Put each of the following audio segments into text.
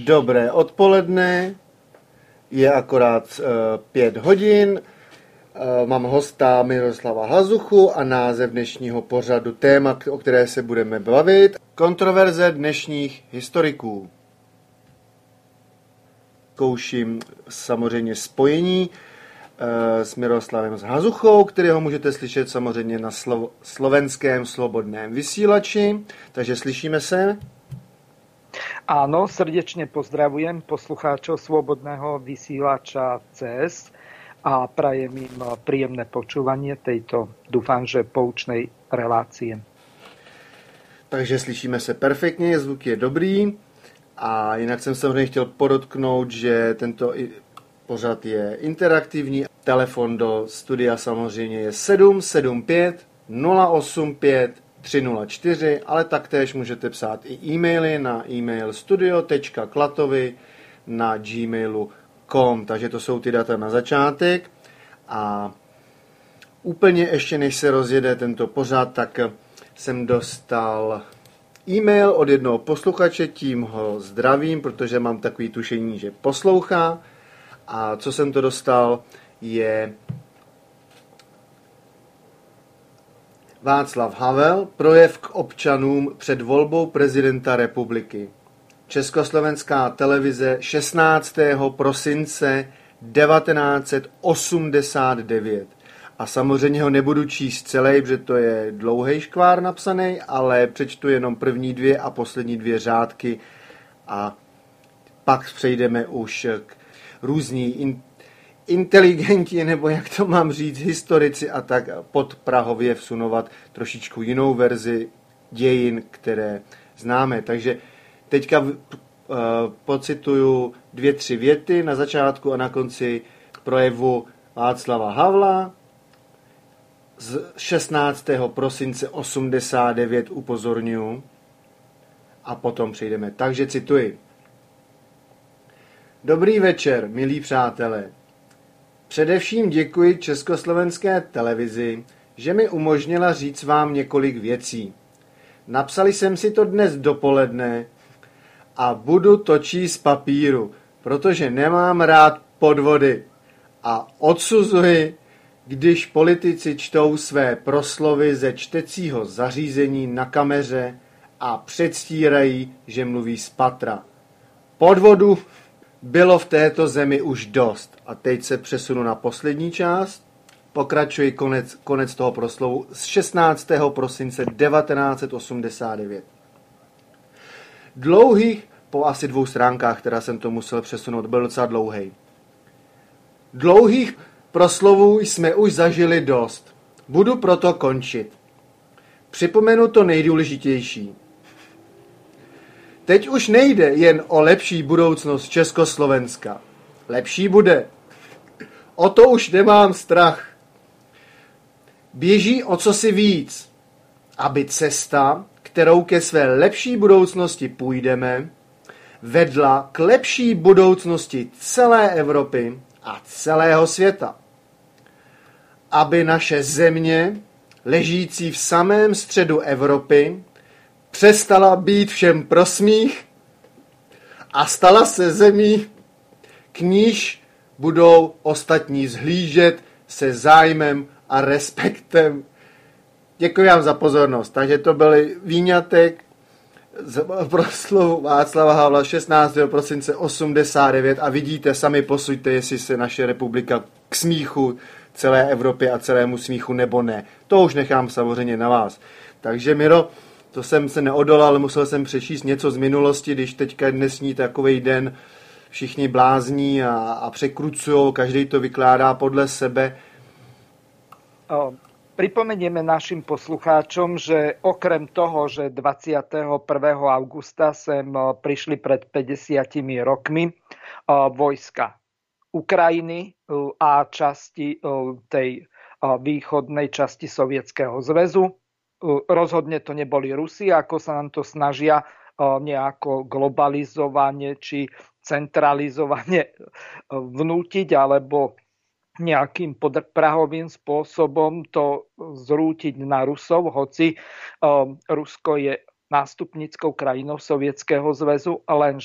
Dobré odpoledne, je akorát 5 hodin, mám hosta Miroslava Hazuchu a název dnešního pořadu téma, o které se budeme bavit, kontroverze dnešních historiků. Zkouším samozřejmě spojení s Miroslavem Hazuchou, kterého můžete slyšet samozřejmě na slovenském slobodném vysílači, takže slyšíme se. Áno, srdečne pozdravujem poslucháčov Slobodného vysielača CS a prajem im príjemné počúvanie tejto, dúfam, že poučnej relácie. Takže slyšíme se perfektně, zvuk je dobrý a jinak jsem samozřejmě chtěl podotknout, že tento pořad je interaktivní. Telefon do studia samozřejmě je 775 085 304, ale taktéž můžete psát i e-maily na e-mail studio.klatovy@gmailu.com, takže to jsou ty data na začátek. A úplně ještě než se rozjede tento pořad, tak jsem dostal e-mail od jednoho posluchače, tím ho zdravím, protože mám takový tušení, že poslouchá. A co jsem to dostal, je Václav Havel, projev k občanům před volbou prezidenta republiky. Československá televize 16. prosince 1989. A samozřejmě ho nebudu číst celý, protože to je dlouhý škvár napsaný, ale přečtu jenom první 2 a poslední 2 řádky a pak přejdeme už k různí inteligenti, nebo jak to mám říct, historici a tak pod Prahově vsunovat trošičku jinou verzi dějin, které známe. Takže teďka pocituju 2-3 věty na začátku a na konci projevu Václava Havla z 16. prosince 89 upozorňuji a potom přejdeme. Takže cituji. Dobrý večer, milí přátelé. Především děkuji Československé televizi, že mi umožnila říct vám několik věcí. Napsali jsem si to dnes dopoledne a budu to číst z papíru, protože nemám rád podvody a odsuzuji, když politici čtou své proslovy ze čtecího zařízení na kameře a předstírají, že mluví z patra. Podvodu bylo v této zemi už dost. A teď se přesunu na poslední část. Pokračuji konec toho proslovu z 16. prosince 1989. Dlouhých, po asi 2 stránkách, která jsem to musel přesunout, byl docela dlouhý. Dlouhých proslovů jsme už zažili dost. Budu proto končit. Připomenu to nejdůležitější. Teď už nejde jen o lepší budoucnost Československa. Lepší bude. O to už nemám strach. Běží o cosi víc, aby cesta, kterou ke své lepší budoucnosti půjdeme, vedla k lepší budoucnosti celé Evropy a celého světa. Aby naše země, ležící v samém středu Evropy, přestala být všem pro smích a stala se zemí, k níž budou ostatní zhlížet se zájmem a respektem. Děkuji vám za pozornost. Takže to byl výňatek z proslovu Václava Havla 16. prosince 89 a vidíte, sami posuďte, jestli se naše republika k smíchu celé Evropě a celému smíchu nebo ne. To už nechám samozřejmě na vás. Takže Miro, to jsem se neodolal, musel jsem přečíst něco z minulosti, když teďka dnesní takovej den všichni blázní a překrucujou, každý to vykládá podle sebe. Pripomenieme našim poslucháčom, že okrem toho, že 21. augusta sem prišli pred 50 rokmi vojska Ukrajiny a časti tej východnej časti Sovietskeho zväzu. Rozhodne to neboli Rusi, ako sa nám to snažia nejako globalizovane či centralizovane vnútiť, alebo nejakým podprahovým spôsobom to zrútiť na Rusov, hoci Rusko je nástupnickou krajinou Sovietskeho zväzu, lenže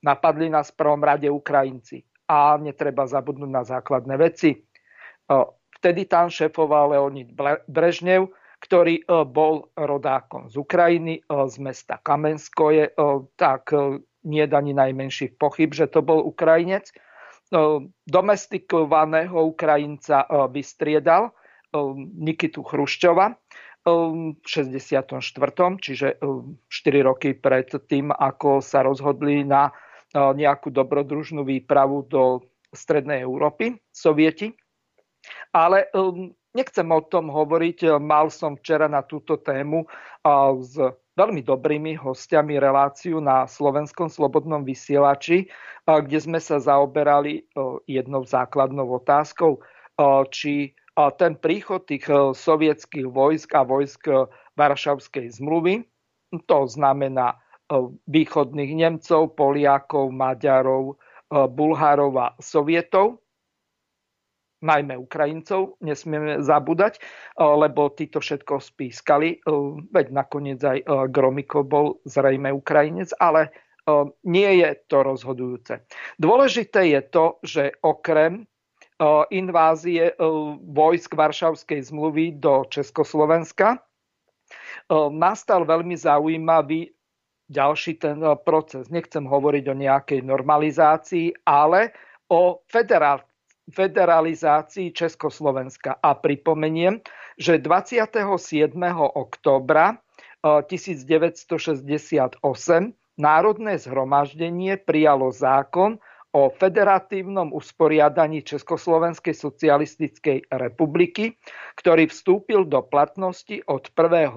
Napadli nás v prvom rade Ukrajinci. A netreba zabudnúť na základné veci. Vtedy tam šéfoval Leonid Brežnev, ktorý bol rodákom z Ukrajiny, z mesta Kamenskoje, tak nie je ani najmenších pochyb, že to bol Ukrajinec. Domestikovaného Ukrajinca vystriedal Nikitu Chruščova v 64. Čiže 4 roky pred tým, ako sa rozhodli na nejakú dobrodružnú výpravu do Strednej Európy, Sovieti. Ale nechcem o tom hovoriť. Mal som včera na túto tému s veľmi dobrými hostiami reláciu na Slovenskom slobodnom vysielači, kde sme sa zaoberali jednou základnou otázkou, či ten príchod tých sovietských vojsk a vojsk Varšavskej zmluvy, to znamená východných Nemcov, Poliakov, Maďarov, Bulharov a Sovietov, najmä Ukrajincov, nesmieme zabúdať, lebo títo všetko spískali, veď nakoniec aj Gromyko bol zrejme Ukrajinec, ale nie je to rozhodujúce. Dôležité je to, že okrem invázie vojsk Varšavskej zmluvy do Československa nastal veľmi zaujímavý ďalší ten proces. Nechcem hovoriť o nejakej normalizácii, ale o federalizácii Československa. A pripomeniem, že 27. októbra 1968 Národné zhromaždenie prijalo zákon o federatívnom usporiadaní Československej socialistickej republiky, ktorý vstúpil do platnosti od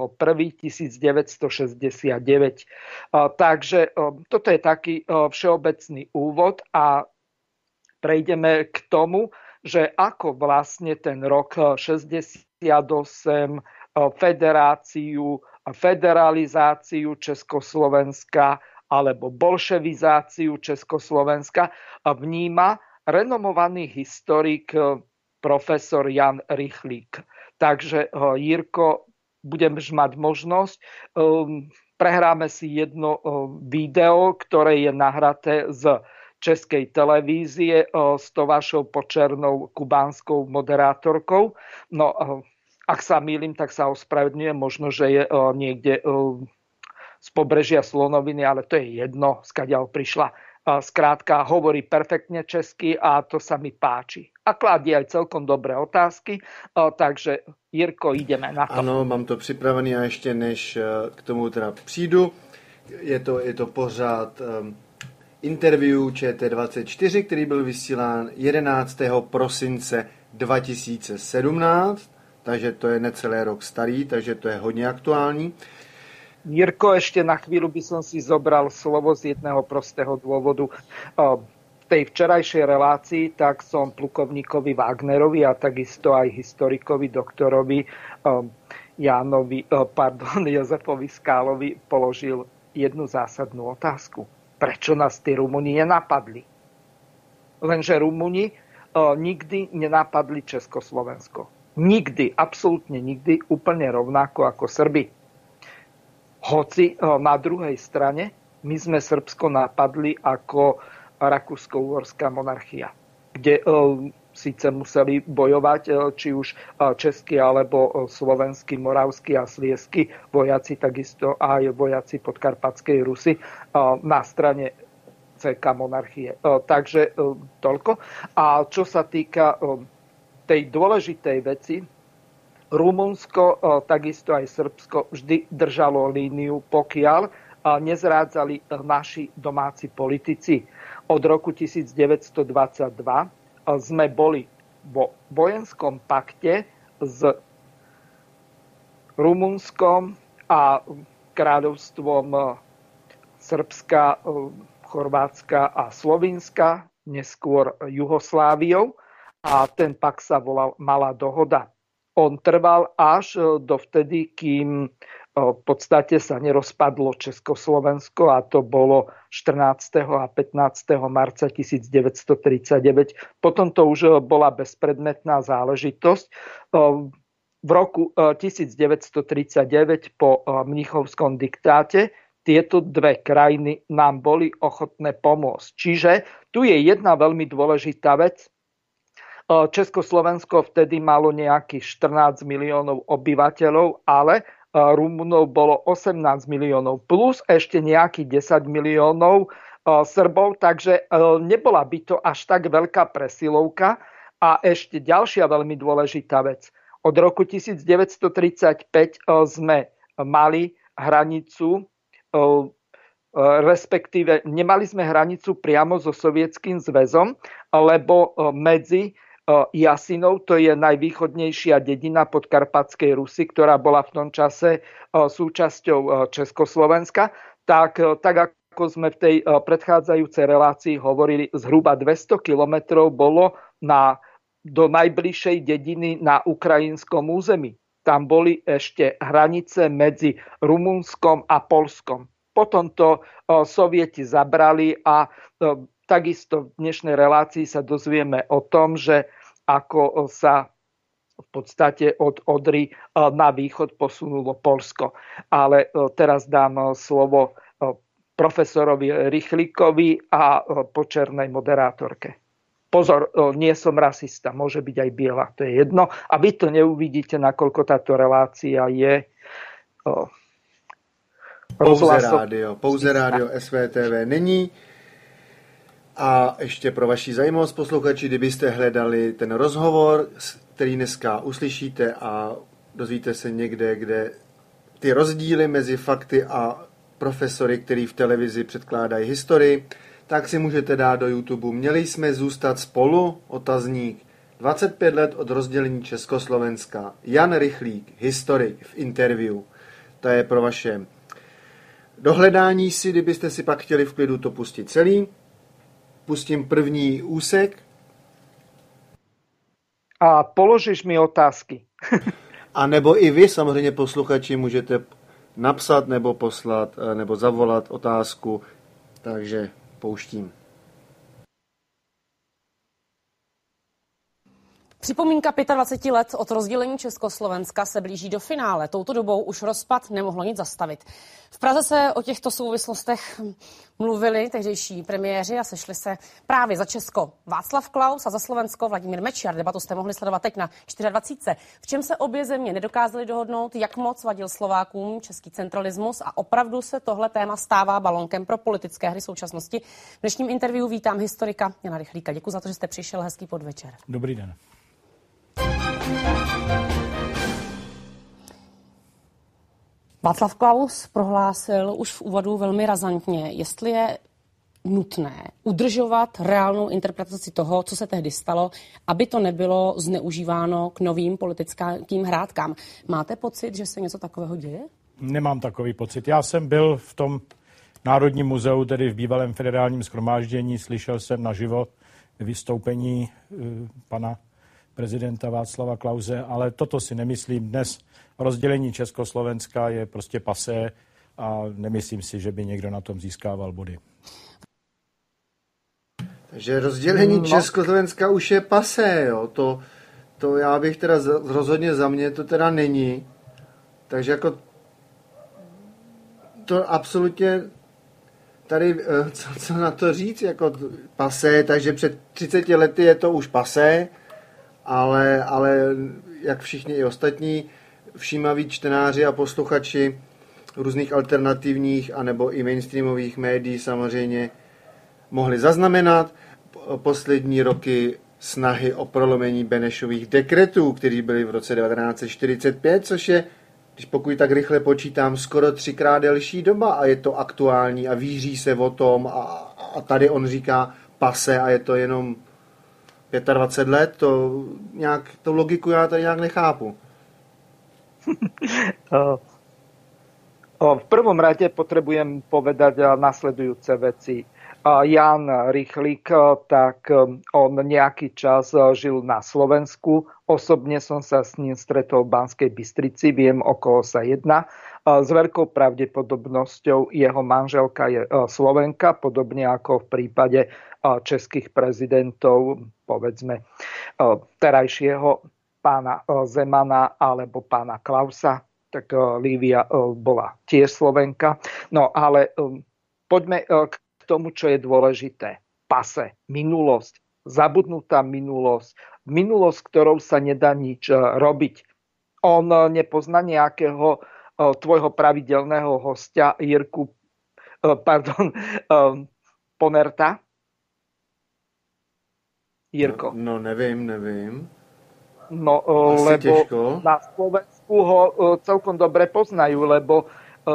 1.1.1969. Takže toto je taký všeobecný úvod a prejdeme k tomu, že ako vlastne ten rok 68, federalizáciu Československa alebo bolševizáciu Československa vníma renomovaný historik profesor Jan Rychlík. Takže Jirko, budeš mať možnosť, prehráme si jedno video, ktoré je nahraté z Českej televízie s tou vašou počernou kubánskou moderátorkou. No, ak sa mýlim, tak sa ospravedlňujem, možno, že je niekde z pobrežia Slonoviny, ale to je jedno, skadiaľ prišla. Skrátka, hovorí perfektne česky a to sa mi páči. A kladie aj celkom dobré otázky, takže Jirko, ideme na to. Ano, mám to připravený a ještě než k tomu teda přijdu, je to pořád interview ČT24, který byl vysílán 11. prosince 2017, takže to je necelý rok starý, takže to je hodně aktuální. Jirko, ešte na chvíľu by som si zobral slovo z jedného prostého dôvodu. V tej včerajšej relácii tak som plukovníkovi Wagnerovi a takisto aj historikovi, doktorovi Jozefovi Skálovi položil jednu zásadnú otázku. Prečo nás tí Rumúni nenapadli? Lenže Rumúni nikdy nenapadli Československo. Nikdy, absolútne nikdy, úplne rovnako ako Srbi. Hoci na druhej strane my sme Srbsko napadli ako rakúsko-uhorská monarchia, kde síce museli bojovať či už českí alebo slovenskí, moravskí a sliezskí vojaci, takisto aj vojaci podkarpatskej Rusy na strane CK monarchie. Takže toľko. A čo sa týka tej dôležitej veci, Rumunsko, takisto aj Srbsko vždy držalo líniu, pokiaľ nezrádzali naši domáci politici. Od roku 1922 sme boli vo vojenskom pakte s Rumunskom a kráľovstvom Srbska, Chorvátska a Slovinska, neskôr Jugosláviou, a ten pakt sa volal Malá dohoda. On trval až dovtedy, kým v podstate sa nerozpadlo Československo, a to bolo 14. a 15. marca 1939. Potom to už bola bezpredmetná záležitosť. V roku 1939 po mnichovskom diktáte tieto dve krajiny nám boli ochotné pomôcť. Čiže tu je jedna veľmi dôležitá vec. Československo vtedy malo nejakých 14 miliónov obyvateľov, ale Rumunov bolo 18 miliónov plus ešte nejakých 10 miliónov Srbov, takže nebola by to až tak veľká presilovka. A ešte ďalšia veľmi dôležitá vec. Od roku 1935 sme mali hranicu, respektíve nemali sme hranicu priamo so Sovietským zväzom, lebo medzi Jasinov, to je najvýchodnejšia dedina Podkarpatskej Rusy, ktorá bola v tom čase súčasťou Československa, tak ako sme v tej predchádzajúcej relácii hovorili, zhruba 200 kilometrov bolo do najbližšej dediny na ukrajinskom území. Tam boli ešte hranice medzi Rumunskom a Poľskom. Potom to Sovieti zabrali a takisto v dnešnej relácii sa dozvieme o tom, že ako sa v podstate od Odry na východ posunulo Poľsko. Ale teraz dám slovo profesorovi Rychlíkovi a počernej moderátorke. Pozor, nie som rasista, môže byť aj biela, to je jedno. A vy to neuvidíte, nakoľko táto relácia je Pouze rádio SVTV není. A ještě pro vaši zajímavost, posluchači, kdybyste hledali ten rozhovor, který dneska uslyšíte a dozvíte se někde, kde ty rozdíly mezi fakty a profesory, který v televizi předkládají historii, tak si můžete dát do YouTube. Měli jsme zůstat spolu? Otazník. 25 let od rozdělení Československa. Jan Rychlík, historik, v interview. To je pro vaše dohledání si, kdybyste si pak chtěli v klidu to pustit celý. Pustím první úsek. A položíš mi otázky. A nebo i vy, samozřejmě posluchači, můžete napsat nebo poslat, nebo zavolat otázku. Takže pouštím. Připomínka 25 let od rozdělení Československa se blíží do finále. Touto dobou už rozpad nemohlo nic zastavit. V Praze se o těchto souvislostech mluvili tehdejší premiéři a sešli se právě za Česko Václav Klaus a za Slovensko Vladimír Mečiar. Debatu jste mohli sledovat teď na 24. V čem se obě země nedokázaly dohodnout, jak moc vadil Slovákům český centralismus a opravdu se tohle téma stává balonkem pro politické hry současnosti. V dnešním interview vítám historika Jana Rychlíka. Děkuji za to, že jste přišel. Hezký podvečer. Dobrý den. Václav Klaus prohlásil už v úvodu velmi razantně, jestli je nutné udržovat reálnou interpretaci toho, co se tehdy stalo, aby to nebylo zneužíváno k novým politickým hrádkám. Máte pocit, že se něco takového děje? Nemám takový pocit. Já jsem byl v tom Národním muzeu, tedy v bývalém federálním shromáždění, slyšel jsem naživo vystoupení pana prezidenta Václava Klause, ale toto si nemyslím. Dnes rozdělení Československa je prostě pasé a nemyslím si, že by někdo na tom získával body. Takže rozdělení Československa už je pasé, jo. To já bych teda rozhodně za mě to teda není. Takže jako to absolutně tady, co na to říct, jako pasé, takže před 30 lety je to už pasé, ale jak všichni i ostatní všímaví čtenáři a posluchači různých alternativních anebo i mainstreamových médií samozřejmě mohli zaznamenat poslední roky snahy o prolomení Benešových dekretů, které byly v roce 1945, což je, když pokud tak rychle počítám, skoro 3krát delší doba a je to aktuální a víří se o tom a tady on říká pase a je to jenom 25 let, to nějak, tu logiku já tady nějak nechápu. V prvom rade potrebujem povedať nasledujúce veci. Jan Rychlík, tak on nejaký čas žil na Slovensku. Osobne som sa s ním stretol v Banskej Bystrici, viem, o koho sa jedná. S veľkou pravdepodobnosťou jeho manželka je Slovenka, podobne ako v prípade českých prezidentov, povedzme terajšieho pána Zemana alebo pána Klausa. tak Lívia bola tiež Slovenka. No ale poďme k tomu, čo je dôležité. Pase, minulosť, zabudnutá minulosť, ktorou sa nedá nič robiť. On nepozná nejakého tvojho pravidelného hostia Ponerta? Jirko. No nevím. No, lebo těžko. Na Slovensku ho celkom dobre poznajú, lebo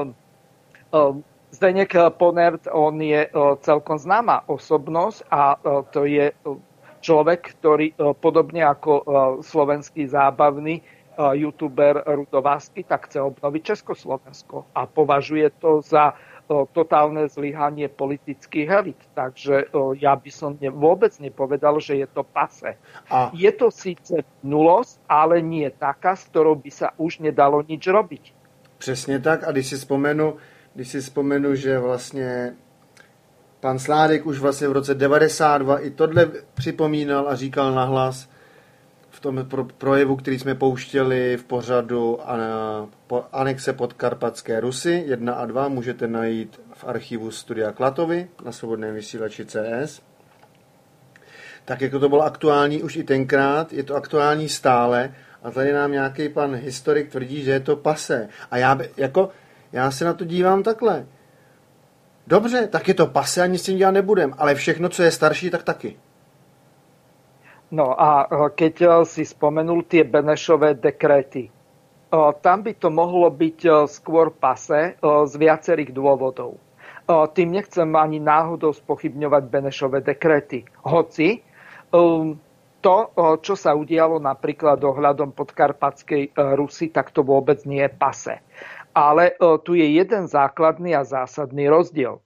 Zdeněk Ponert, on je celkom známa osobnosť a to je človek, ktorý podobne ako slovenský zábavný youtuber Rudo Vásky, tak chce obnoviť Československo a považuje to za totálne zlyhanie politických elit. Takže ja by som vôbec nepovedal, že je to pase. Je to síce minulosť, ale nie taká, s ktorou by sa už nedalo nič robiť. Přesně tak. A když si vzpomenu, že vlastně pan Sládek už vlastně v roce 92 i tohle připomínal a říkal nahlas v tom projevu, který jsme pouštěli v pořadu Anexe Podkarpatské Rusy 1 a 2, můžete najít v archivu Studia Klatovy na Svobodném vysílači CS. Tak jako to bylo aktuální už i tenkrát, je to aktuální stále a tady nám nějaký pan historik tvrdí, že je to pase. A já se na to dívám takhle. Dobře, tak je to pase a nic s tím dělat nebudem, ale všechno, co je starší, tak taky. No a keď si spomenul tie Benešové dekréty, tam by to mohlo byť skôr pase z viacerých dôvodov. Tým nechcem ani náhodou spochybňovať Benešové dekréty. Hoci to, čo sa udialo napríklad ohľadom Podkarpatskej Rusy, tak to vôbec nie je pase. Ale tu je jeden základný a zásadný rozdiel.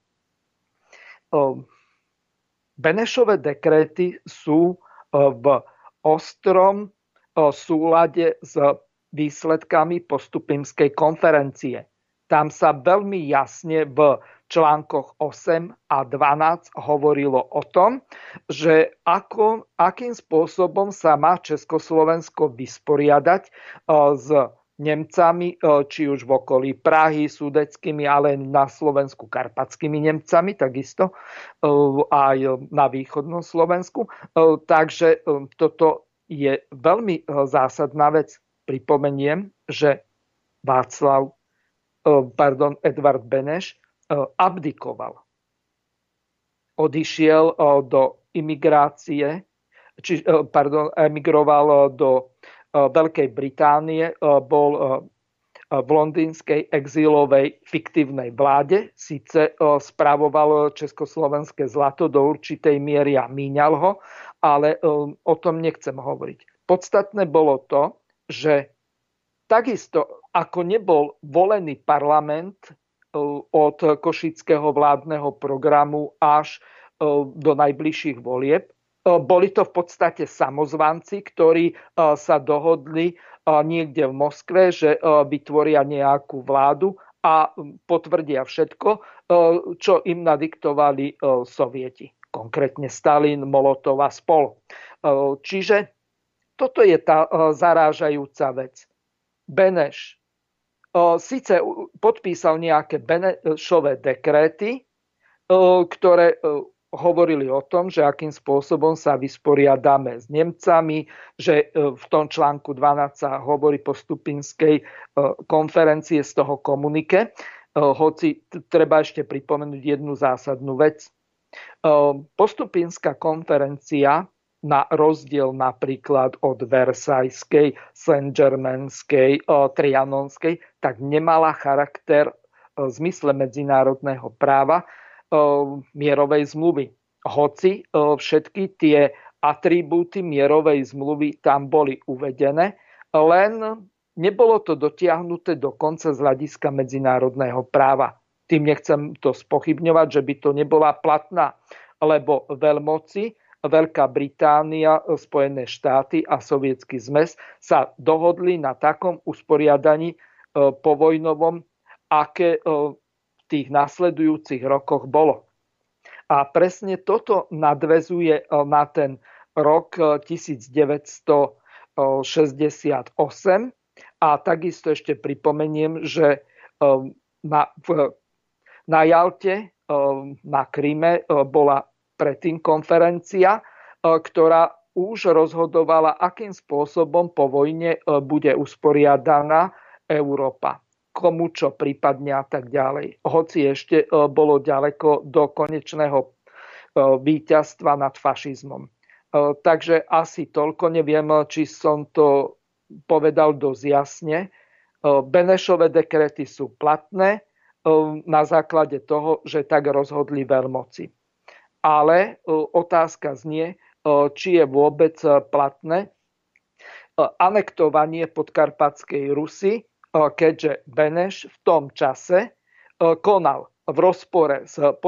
Benešové dekréty sú v ostrom súlade s výsledkami Postupimskej konferencie. Tam sa veľmi jasne v článkoch 8 a 12 hovorilo o tom, že akým spôsobom sa má Československo vysporiadať s Nemcami, či už v okolí Prahy, sudeckými, ale na Slovensku karpatskými Nemcami, takisto aj na východnom Slovensku. Takže toto je veľmi zásadná vec. Pripomeniem, že Edvard Beneš abdikoval. Odišiel do imigrácie, emigroval do Veľkej Británie, bol v londýnskej exílovej fiktívnej vláde, síce spravoval československé zlato do určitej miery a míňal ho, ale o tom nechcem hovoriť. Podstatné bolo to, že takisto ako nebol volený parlament od košického vládneho programu až do najbližších volieb, boli to v podstate samozvanci, ktorí sa dohodli niekde v Moskve, že vytvoria nejakú vládu a potvrdia všetko, čo im nadiktovali Sovieti. Konkrétne Stalin, Molotov a spol. Čiže toto je tá zarážajúca vec. Beneš síce podpísal nejaké Benešové dekréty, ktoré hovorili o tom, že akým spôsobom sa vysporiadáme s Nemcami, že v tom článku 12 sa hovorí Postupinskej konferencie z toho komunike. Hoci treba ešte pripomenúť jednu zásadnú vec. Postupinská konferencia na rozdiel napríklad od Versajskej, Saint-Germainskej, Trianonskej, tak nemala charakter v zmysle medzinárodného práva mierovej zmluvy. Hoci všetky tie atribúty mierovej zmluvy tam boli uvedené, len nebolo to dotiahnuté do konca z hľadiska medzinárodného práva. Tým nechcem to spochybňovať, že by to nebola platná, lebo veľmoci, Veľká Británia, Spojené štáty a Sovietsky zmes sa dohodli na takom usporiadaní povojnovom, aké tých nasledujúcich rokoch bolo. A presne toto nadväzuje na ten rok 1968 A takisto ešte pripomeniem, že na Jalte, na Kryme bola predtým konferencia, ktorá už rozhodovala, akým spôsobom po vojne bude usporiadaná Európa. Komu čo prípadne a tak ďalej. Hoci ešte bolo ďaleko do konečného víťazstva nad fašizmom. Takže asi toľko. Neviem, či som to povedal dosť jasne. Benešové dekrety sú platné na základe toho, že tak rozhodli veľmoci. Ale otázka znie, či je vôbec platné anektovanie Podkarpatskej Rusy, keďže Beneš v tom čase konal v rozpore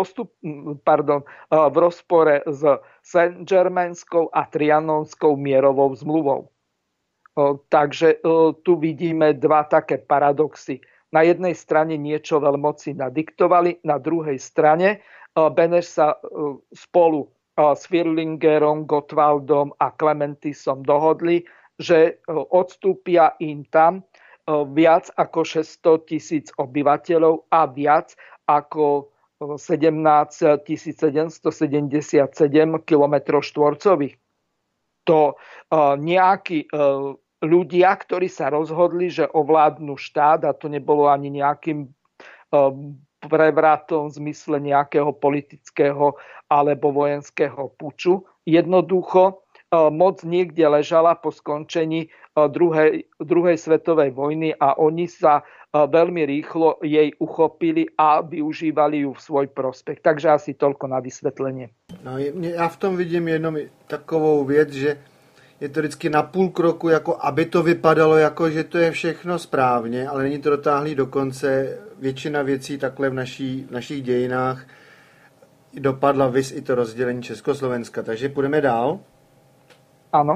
s Saint-Germainskou a Trianonskou mierovou zmluvou. Takže tu vidíme dva také paradoxy. Na jednej strane niečo veľmoci nadiktovali, na druhej strane Beneš sa spolu s Firlingerom, Gottwaldom a Clementisom dohodli, že odstúpia im tam viac ako 600 000 obyvateľov a viac ako 17 777 km štvorcových. To nejakí ľudia, ktorí sa rozhodli, že ovládnu štát, a to nebolo ani nejakým prevratom v zmysle nejakého politického alebo vojenského puču. Jednoducho moc niekde ležala po skončení druhej svetovej vojny a oni sa veľmi rýchlo jej uchopili a využívali ju v svoj prospech. Takže asi toľko na vysvetlenie. No, já v tom vidím jenom takovou věc, že je to vždycky na půl kroku, jako aby to vypadalo, jako že to je všechno správně, ale není to dotáhlý do konce. Většina věcí takhle v našich dějinách dopadla, viz i to rozdělení Československa. Takže půjdeme dál. Ano.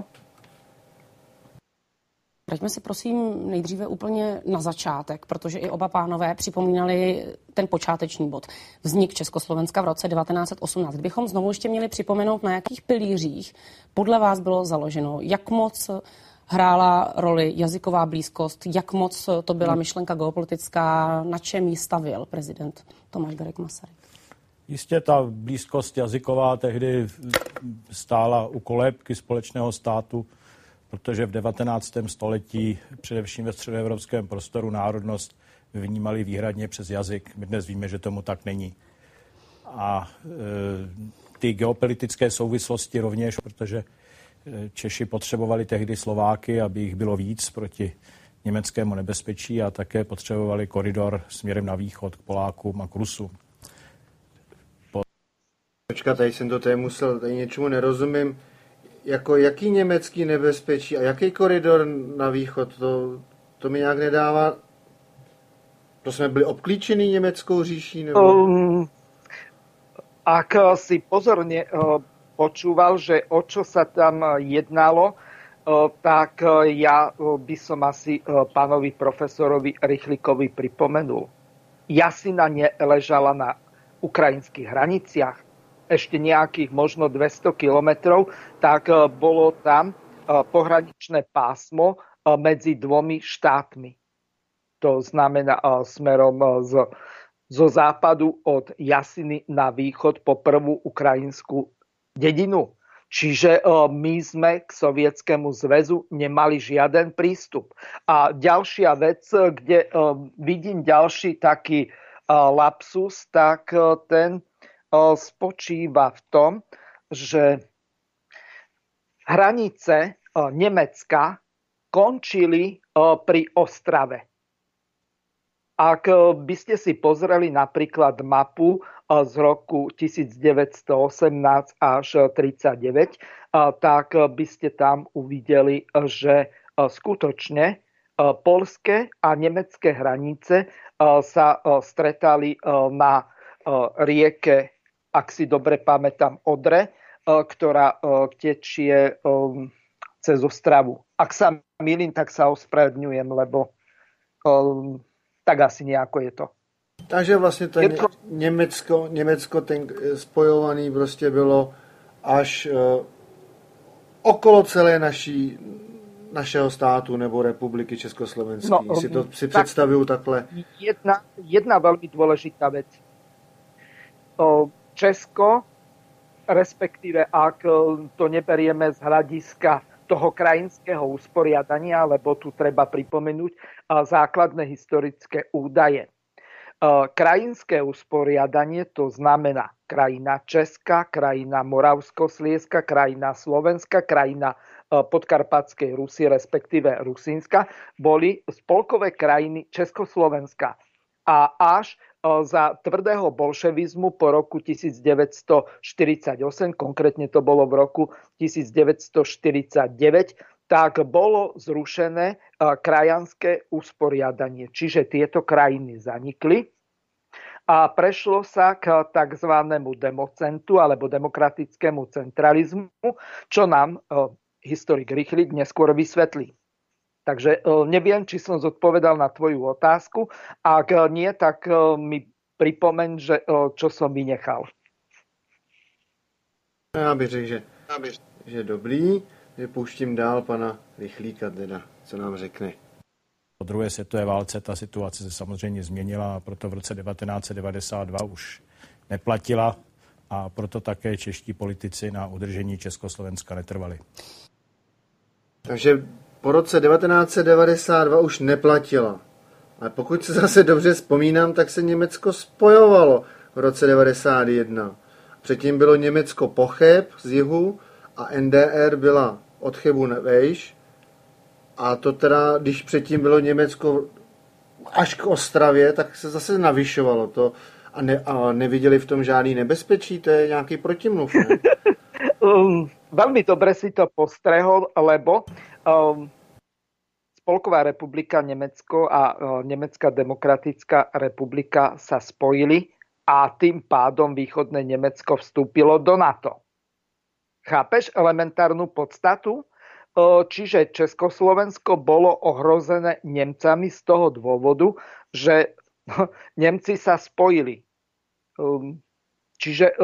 Vraťme se prosím nejdříve úplně na začátek, protože i oba pánové připomínali ten počáteční bod. Vznik Československa v roce 1918. Kdybychom znovu ještě měli připomenout, na jakých pilířích podle vás bylo založeno, jak moc hrála roli jazyková blízkost, jak moc to byla myšlenka geopolitická, na čem ji stavěl prezident Tomáš Garrigue Masaryk? Jistě ta blízkost jazyková tehdy stála u kolébky společného státu, protože v 19. století především ve středoevropském prostoru národnost vnímali výhradně přes jazyk. My dnes víme, že tomu tak není. A ty geopolitické souvislosti rovněž, protože Češi potřebovali tehdy Slováky, aby jich bylo víc proti německému nebezpečí a také potřebovali koridor směrem na východ k Polákům a k Rusům. Počkat, tady jsem to tady musel, tady něčemu nerozumím. Jako jaký německý nebezpečí a jaký koridor na východ, to mi nějak nedává. To jsme byli obklíčení německou říší? Nebo? Ak si pozorne počúval, že o čo sa tam jednalo, tak ja by som asi pánovi profesorovi Rychlíkovi pripomenul. Jasina neležala na ukrajinských hraniciach, ešte nejakých možno 200 kilometrov, tak bolo tam pohraničné pásmo medzi dvomi štátmi. To znamená smerom zo západu od Jasiny na východ po prvú ukrajinskú dedinu. Čiže my sme k Sovietskému zväzu nemali žiaden prístup. A ďalšia vec, kde vidím ďalší taký lapsus, tak ten spočíva v tom, že hranice Nemecka končili pri Ostrave. Ak by ste si pozreli napríklad mapu z roku 1918 až 1939, tak by ste tam uvideli, že skutočne poľské a nemecké hranice sa stretali na rieke, ak si dobre pamätám, Odre, ktorá tečie cez Ostravu. Ak sa mýlim, tak sa ospravedlňujem, lebo tak asi nejako je to. Takže vlastně to Německo ten spojovaný prostě bylo až okolo celé našeho státu nebo republiky Československé. No, si to si představuju takhle. Jedna veľmi dôležitá vec. Česko, respektíve ak to neberieme z hľadiska toho krajinského usporiadania, lebo tu treba pripomenúť základné historické údaje. Krajinské usporiadanie, to znamená krajina Česka, krajina Moravskoslieska, krajina Slovenska, krajina Podkarpatskej Rusy, respektíve Rusínska, boli spolkové krajiny Československa. A až za tvrdého bolševizmu po roku 1948, konkrétne to bolo v roku 1949, tak bolo zrušené krajanské usporiadanie. Čiže tieto krajiny zanikli a prešlo sa k tzv. Democentu alebo demokratickému centralizmu, čo nám historik Rychlík neskôr vysvetlí. Takže neviem, či som zodpovedal na tvoju otázku. Ak nie, tak mi pripomeň, čo som vynechal. Já bych řekl, že dobrý. Že pouštím dál pana Rychlíka teda, co nám řekne. Po druhé světové válce ta situace se samozřejmě změnila a proto v roce 1992 už neplatila a proto také čeští politici na udržení Československa netrvali. Takže po roce 1992 už neplatila. Ale pokud se zase dobře vzpomínám, tak se Německo spojovalo v roce 1991. Předtím bylo Německo po Cheb z jihu a NDR byla od Chebu vejš. A to teda, když předtím bylo Německo až k Ostravě, tak se zase navyšovalo to. A neviděli v tom žádný nebezpečí? To je nějaký protimluv, ne? Veľmi dobre si to postrehol, lebo Spolková republika Nemecko a Nemecká demokratická republika sa spojili a tým pádom východné Nemecko vstúpilo do NATO. Chápeš elementárnu podstatu? Čiže Československo bolo ohrozené Nemcami z toho dôvodu, že Nemci sa spojili. Čiže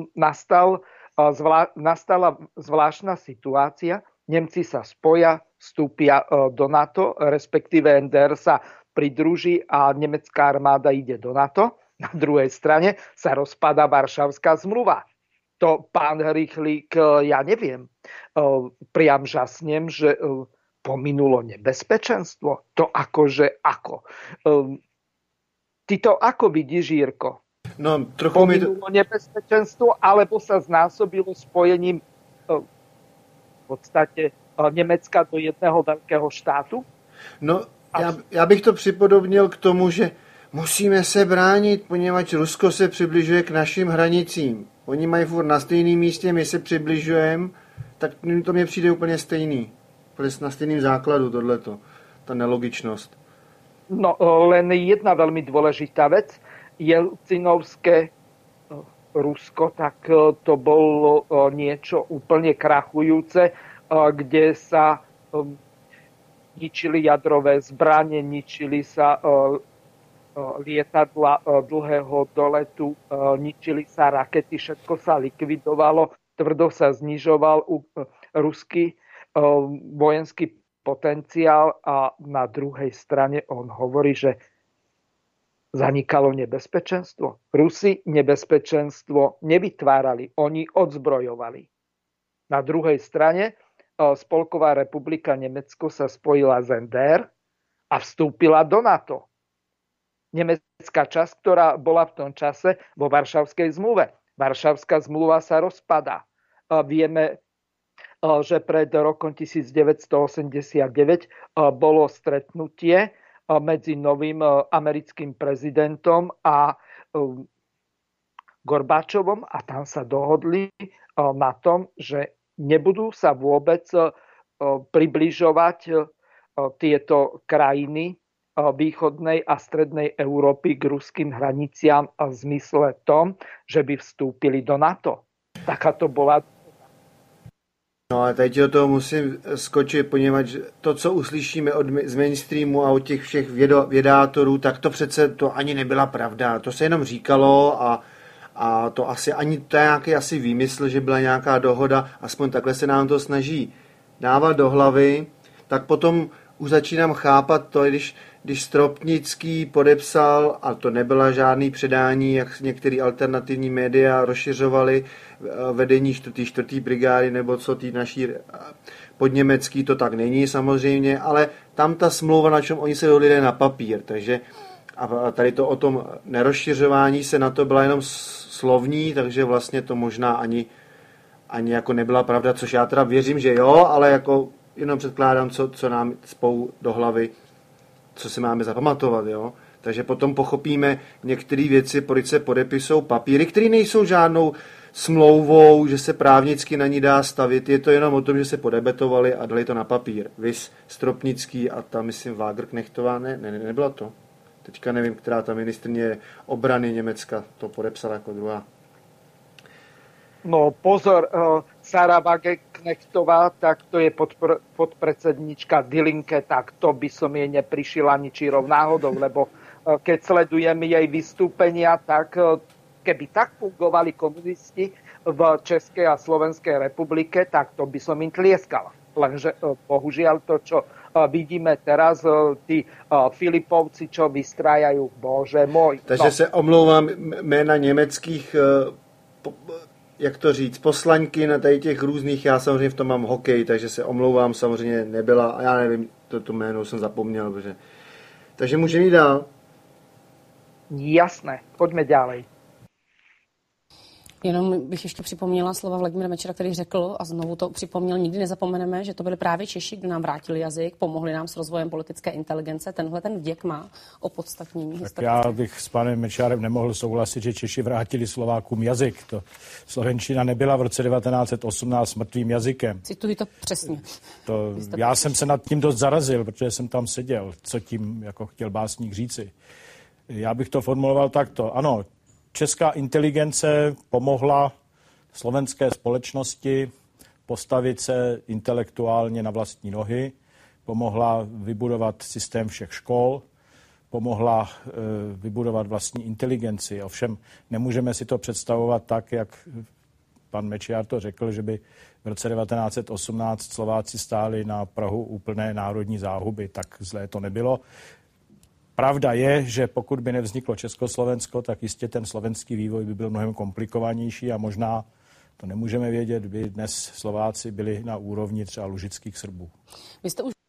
nastala zvláštna situácia. Nemci sa spoja, vstúpia do NATO, respektíve NDR sa pridruží a nemecká armáda ide do NATO. Na druhej strane sa rozpadá Varšavská zmluva. To, pán Rychlík, ja neviem. Priam žasnem, že pominulo nebezpečenstvo. To akože ako. Ty to ako vidíš, Jirko? No, trochu pominulo nebezpečenstvo, alebo sa znásobilo spojením v podstate Nemecka do jedného veľkého štátu? No, já bych to připodobnil k tomu, že musíme se bránit, poněvadž Rusko se přibližuje k našim hranicím. Oni mají furt na stejném místě, my se přibližujeme, tak to mně přijde úplně stejný. Na stejným základu tohleto, ta nelogičnost. No, len jedna veľmi dôležitá vec. Jelcinovské Rusko, tak to bolo niečo úplne krachujúce, kde sa ničili jadrové zbrane, ničili sa lietadla dlhého doletu, ničili sa rakety, všetko sa likvidovalo, tvrdo sa znižoval ruský vojenský potenciál a na druhej strane on hovorí, že zanikalo nebezpečenstvo. Rusi nebezpečenstvo nevytvárali, oni odzbrojovali. Na druhej strane Spolková republika Nemecko sa spojila z NDR a vstúpila do NATO. Nemecká časť, ktorá bola v tom čase vo Varšavskej zmluve. Varšavská zmluva sa rozpadá. Vieme, že pred rokom 1989 bolo stretnutie medzi novým americkým prezidentom a Gorbáčovom a tam sa dohodli na tom, že nebudú sa vôbec približovať tieto krajiny východnej a strednej Európy k ruským hraniciam v zmysle tom, že by vstúpili do NATO. Taká to bola. No a teď o toho musím skočit, poněvadž to, co uslyšíme z mainstreamu a od těch všech vědátorů, tak to přece to ani nebyla pravda. To se jenom říkalo a to asi ani to je nějaký asi výmysl, že byla nějaká dohoda, aspoň takhle se nám to snaží dávat do hlavy. tak potom už začínám chápat to, když Stropnický podepsal, a to nebyla žádný předání, jak některé alternativní média rozšiřovaly vedení 4. brigády, nebo co tý naší podněmecký, to tak není samozřejmě, ale tam ta smlouva, na čem oni se dohodli, na papír, takže a tady to o tom nerozšiřování se na to byla jenom slovní, takže vlastně to možná ani jako nebyla pravda, což já teda věřím, že jo, ale jako jenom předkládám, co nám spou do hlavy, co si máme zapamatovat, jo. Takže potom pochopíme některé věci, proč se podepisují papíry, které nejsou žádnou smlouvou, že se právnicky na ní dá stavit, je to jenom o tom, že se podebetovali a dali to na papír. Vys Stropnický a ta, myslím, Wagenknechtová, nebyla to. Teďka nevím, která ta ministryně obrany Německa to podepsala jako druhá. No pozor, Sara Wagenknechtová, tak to je podpredsednička Die Linke, tak to by som jej neprišiel ani čírov náhodou, lebo keď sledujem jej vystúpenia, tak keby tak fungovali komunisti v Českej a Slovenskej republike, tak to by som im tlieskal. Lenže bohužiaľ to, čo vidíme teraz, tí Filipovci, čo vystrájajú, bože môj. Takže se omlouvám jména německých, jak to říct, poslanky na tady těch různých, já samozřejmě v tom mám hokej, takže se omlouvám, samozřejmě nebyla, a já nevím, to jméno jsem zapomněl, protože... Takže můžeme jít dál. Jasné, poďme ďalej. Jenom bych ještě připomněla slova Vladimíra Mečiara, který řekl, a znovu to připomněl, nikdy nezapomeneme, že to byli právě Češi, kdo nám vrátili jazyk, pomohli nám s rozvojem politické inteligence. Tenhle ten vděk má opodstatnění historické. Já bych s panem Mečiarem nemohl souhlasit, že Češi vrátili Slovákům jazyk. To slovenčina nebyla v roce 1918 mrtvým jazykem. Cituji to přesně. Já jsem se nad tím dost zarazil, protože jsem tam seděl, co tím jako chtěl básník říci. Já bych to formuloval takto. Ano, česká inteligence pomohla slovenské společnosti postavit se intelektuálně na vlastní nohy, pomohla vybudovat systém všech škol, pomohla vybudovat vlastní inteligenci. Ovšem nemůžeme si to představovat tak, jak pan Mečiar to řekl, že by v roce 1918 Slováci stáli na prahu úplné národní záhuby. Tak zlé to nebylo. Pravda je, že pokud by nevzniklo Československo, tak jistě ten slovenský vývoj by byl mnohem komplikovanější a možná, to nemůžeme vědět, by dnes Slováci byli na úrovni třeba lužických Srbů. Vy jste už...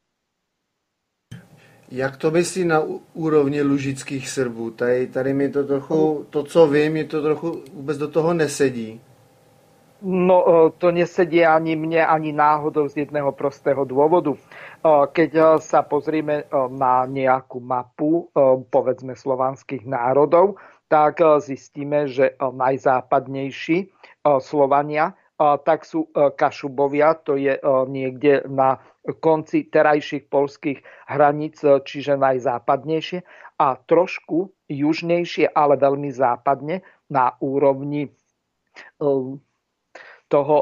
Jak to myslí na úrovni lužických Srbů? Tady mi to trochu, to, co vím, mi to trochu vůbec do toho nesedí. No, to nesedí ani mne, ani náhodou z jedného prostého dôvodu. Keď sa pozrieme na nejakú mapu, povedzme, slovanských národov, tak zistíme, že najzápadnejší Slovania, tak sú Kašubovia, to je niekde na konci terajších poľských hraníc, čiže najzápadnejšie, a trošku južnejšie, ale veľmi západne, na úrovni toho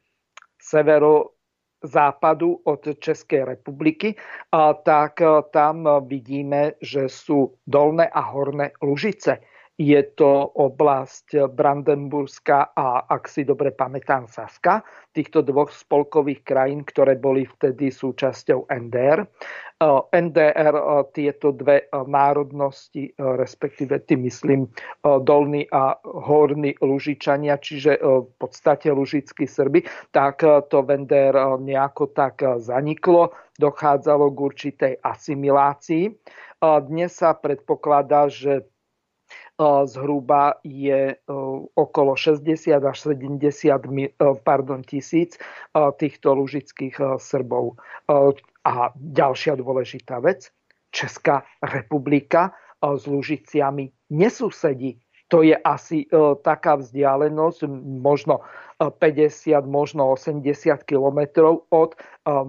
severozápadu od Českej republiky, tak tam vidíme, že sú dolné a horné Lužice. Je to oblasť Brandenburská a, ak si dobre pamätám, Saska, týchto dvoch spolkových krajín, ktoré boli vtedy súčasťou NDR. NDR tieto dve národnosti, respektíve tým myslím dolní a horní Lužičania, čiže v podstate lužickí Srby, tak to v NDR nejako tak zaniklo, dochádzalo k určitej asimilácii. Dnes sa predpokladá, že zhruba je okolo 60 až 70 tisíc týchto lužických Srbov. A ďalšia dôležitá vec, Česká republika s Lužiciami nesusedí. To je asi taká vzdialenosť, možno 50, možno 80 kilometrov od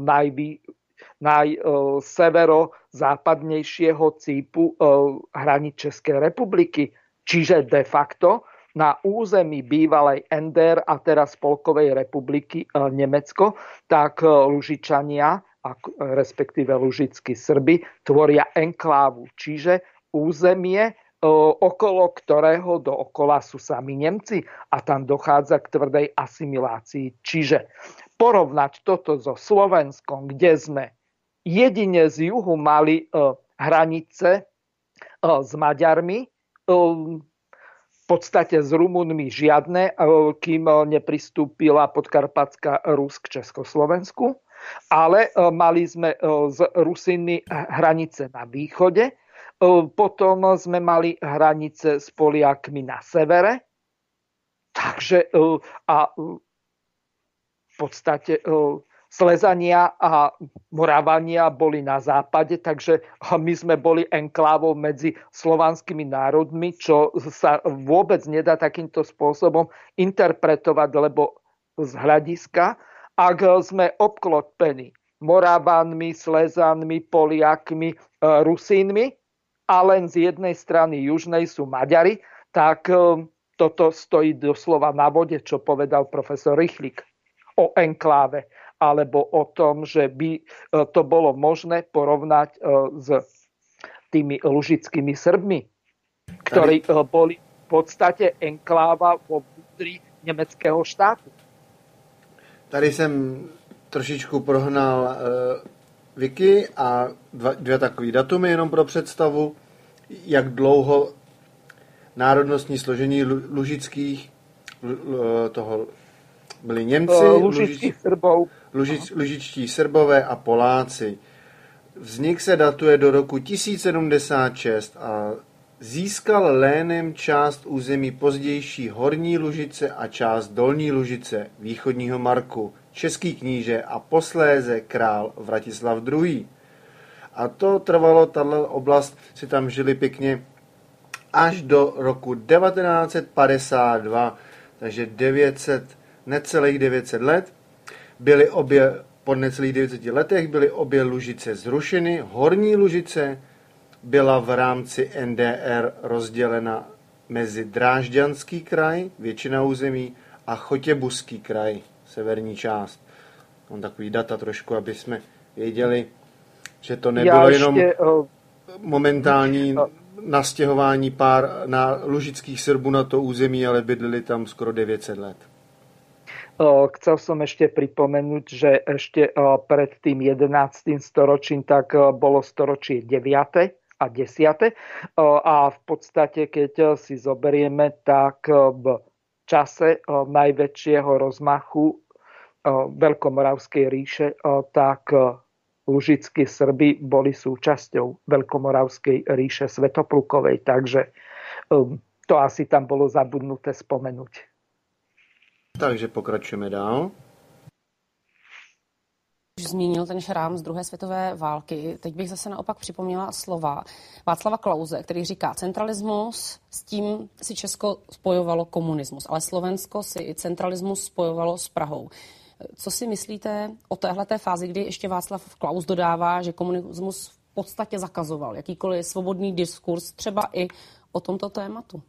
najseverozápadnejšieho cípu hraníc Českej republiky. Čiže de facto na území bývalej NDR a teraz Spolkovej republiky Nemecko, tak Lužičania, respektíve lužickí Srby, tvoria enklávu, čiže územie, okolo ktorého dookola sú sami Nemci a tam dochádza k tvrdej asimilácii. Čiže porovnať toto so Slovenskom, kde sme jedine z juhu mali hranice s Maďarmi, v podstate s Rumunmi žiadne, kým nepristúpila Podkarpatská Rus k Československu. Ale mali sme s Rusínmi hranice na východe, potom sme mali hranice s Poliakmi na severe, takže a v podstate Slezania a Moravania boli na západe, takže my sme boli enklávou medzi slovanskými národmi, čo sa vôbec nedá takýmto spôsobom interpretovať, lebo z hľadiska, ak sme obklopení Moravanmi, Slezanmi, Poliakmi, Rusínmi a len z jednej strany južnej sú Maďari, tak toto stojí doslova na vode, čo povedal profesor Rychlík o enkláve, alebo o tom, že by to bolo možné porovnať s tými lužickými Srbmi, ktorí boli v podstate enkláva vo vnútri nemeckého štátu. Tady jsem trošičku prohnal Wiki a dvě takové datumy jenom pro představu, jak dlouho národnostní složení lužických toho byli Němci, lužičtí Srbové a Poláci. Vznik se datuje do roku 1076 a získal lénem část území pozdější Horní Lužice a část Dolní Lužice, východního Marku, český kníže a posléze král Vratislav II. A to trvalo, tato oblast si tam žili pěkně až do roku 1952, takže necelých 900 let. Byly obě, po necelých 900 letech byly obě Lužice zrušeny. Horní Lužice byla v rámci NDR rozdělena mezi Drážďanský kraj, většina území, a Chotěbuský kraj, severní část. Mám takový data trošku, aby jsme věděli, že to nebylo jenom momentální nastěhování pár na lužických Srbů na to území, ale bydleli tam skoro 900 let. Chcel som ešte pripomenúť, že ešte pred tým 11. storočím tak bolo storočie 9. a 10. A v podstate, keď si zoberieme, tak v čase najväčšieho rozmachu Veľkomoravskej ríše, tak lužickí Srby boli súčasťou Veľkomoravskej ríše Svätoplukovej. Takže to asi tam bolo zabudnuté spomenúť. Takže pokračujeme dál. Už zmínil ten šrám z druhé světové války. Teď bych zase naopak připomněla slova Václava Klause, který říká, centralismus, s tím si Česko spojovalo komunismus, ale Slovensko si i centralismus spojovalo s Prahou. Co si myslíte o téhleté fázi, kdy ještě Václav Klaus dodává, že komunismus v podstatě zakazoval jakýkoliv svobodný diskurs, třeba i o tomto tématu?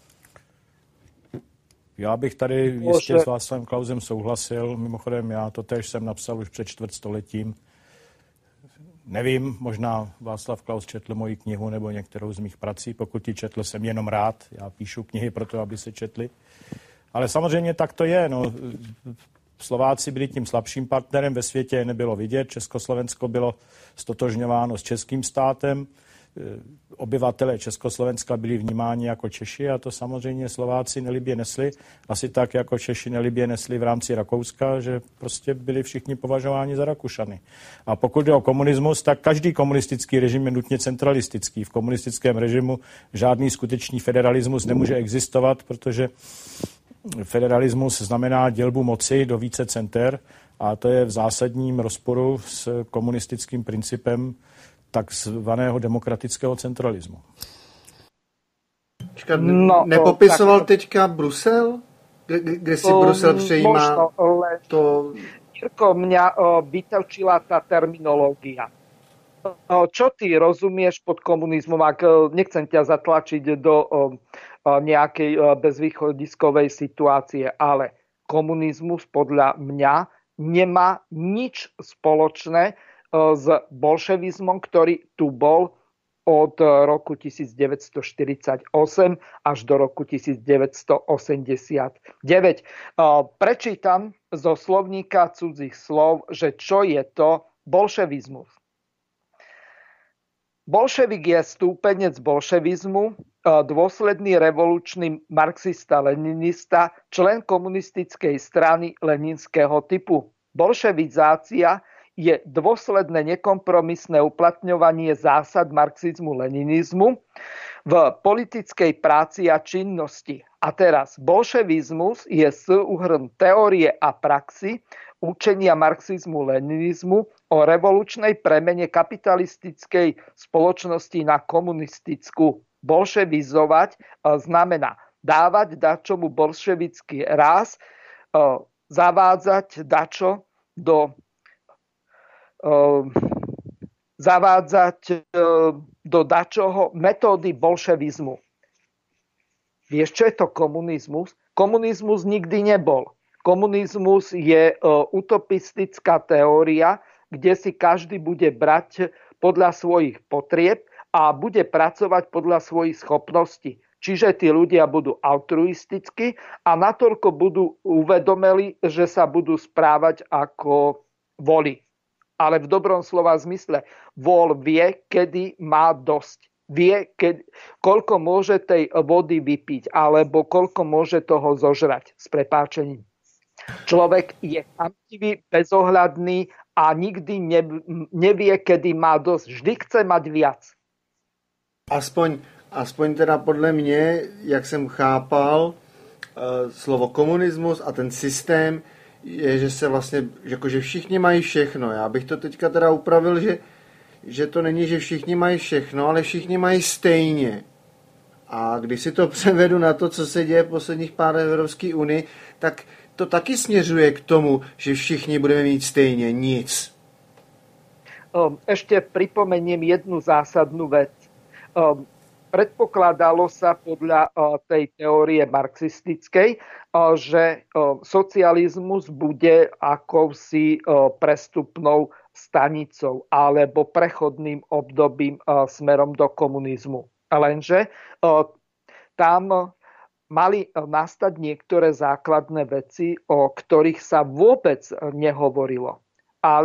Já bych tady jistě s Václavem Klausem souhlasil. Mimochodem, já to též jsem napsal už před čtvrtstoletím. Nevím, možná Václav Klaus četl moji knihu nebo některou z mých prací. Pokud ji četl, jsem jenom rád. Já píšu knihy proto, aby se četly. Ale samozřejmě tak to je. No. Slováci byli tím slabším partnerem, ve světě nebylo vidět. Československo bylo stotožňováno s českým státem. Obyvatelé Československa byli vnímáni jako Češi a to samozřejmě Slováci nelibě nesli. Asi tak, jako Češi nelibě nesli v rámci Rakouska, že prostě byli všichni považováni za Rakušany. A pokud jde o komunismus, tak každý komunistický režim je nutně centralistický. V komunistickém režimu žádný skutečný federalismus nemůže existovat, protože federalismus znamená dělbu moci do více center a to je v zásadním rozporu s komunistickým principem takzvaného demokratického centralismu. Nepopisoval teďka Brusel? Kde si Brusel přejímá to... Jirko, mňa vytočila tá terminológia. Čo ty rozumieš pod komunizmom? Ak nechcem ťa zatlačiť do nejakej bezvýchodiskovej situácie, ale komunizmus podľa mňa nemá nič spoločné s bolševizmom, ktorý tu bol od roku 1948 až do roku 1989. Prečítam zo slovníka cudzích slov, že čo je to bolševizmus. Bolševik je stúpenec bolševizmu, dôsledný revolučný marxista-leninista, člen komunistickej strany leninského typu. Bolševizácia je dôsledné nekompromisné uplatňovanie zásad marxizmu-leninizmu v politickej práci a činnosti. A teraz bolševizmus je súhrn teórie a praxi učenia marxizmu-leninizmu o revolučnej premene kapitalistickej spoločnosti na komunistickú. Bolševizovať znamená dávať dačomu bolševický ráz, zavádzať dačo do dačoho metódy bolševizmu. Vieš, čo je to komunizmus? Komunizmus nikdy nebol. Komunizmus je utopistická teória, kde si každý bude brať podľa svojich potrieb a bude pracovať podľa svojich schopností. Čiže tí ľudia budú altruistickí a natoľko budú uvedomeli, že sa budú správať ako voli. Ale v dobrom slova zmysle. Vol vie, kedy má dosť. Vie, koľko môže tej vody vypiť, alebo koľko môže toho zožrať s prepáčením. Človek je chamtivý, bezohľadný a nikdy nevie, kedy má dosť. Vždy chce mať viac. Aspoň teda podle mě, jak jsem chápal slovo komunismus a ten systém, je, že se vlastně, jakože všichni mají všechno. Já bych to teďka teda upravil, že to není, že všichni mají všechno, ale všichni mají stejně. A když si to převedu na to, co se děje posledních pár Evropské unii, tak to taky směřuje k tomu, že všichni budeme mít stejně nic. Ešte pripomeniem jednu zásadnú vec. Predpokladalo sa podľa tej teórie marxistickej, že socializmus bude akousi prestupnou stanicou alebo prechodným obdobím smerom do komunizmu. Lenže tam mali nastať niektoré základné veci, o ktorých sa vôbec nehovorilo. A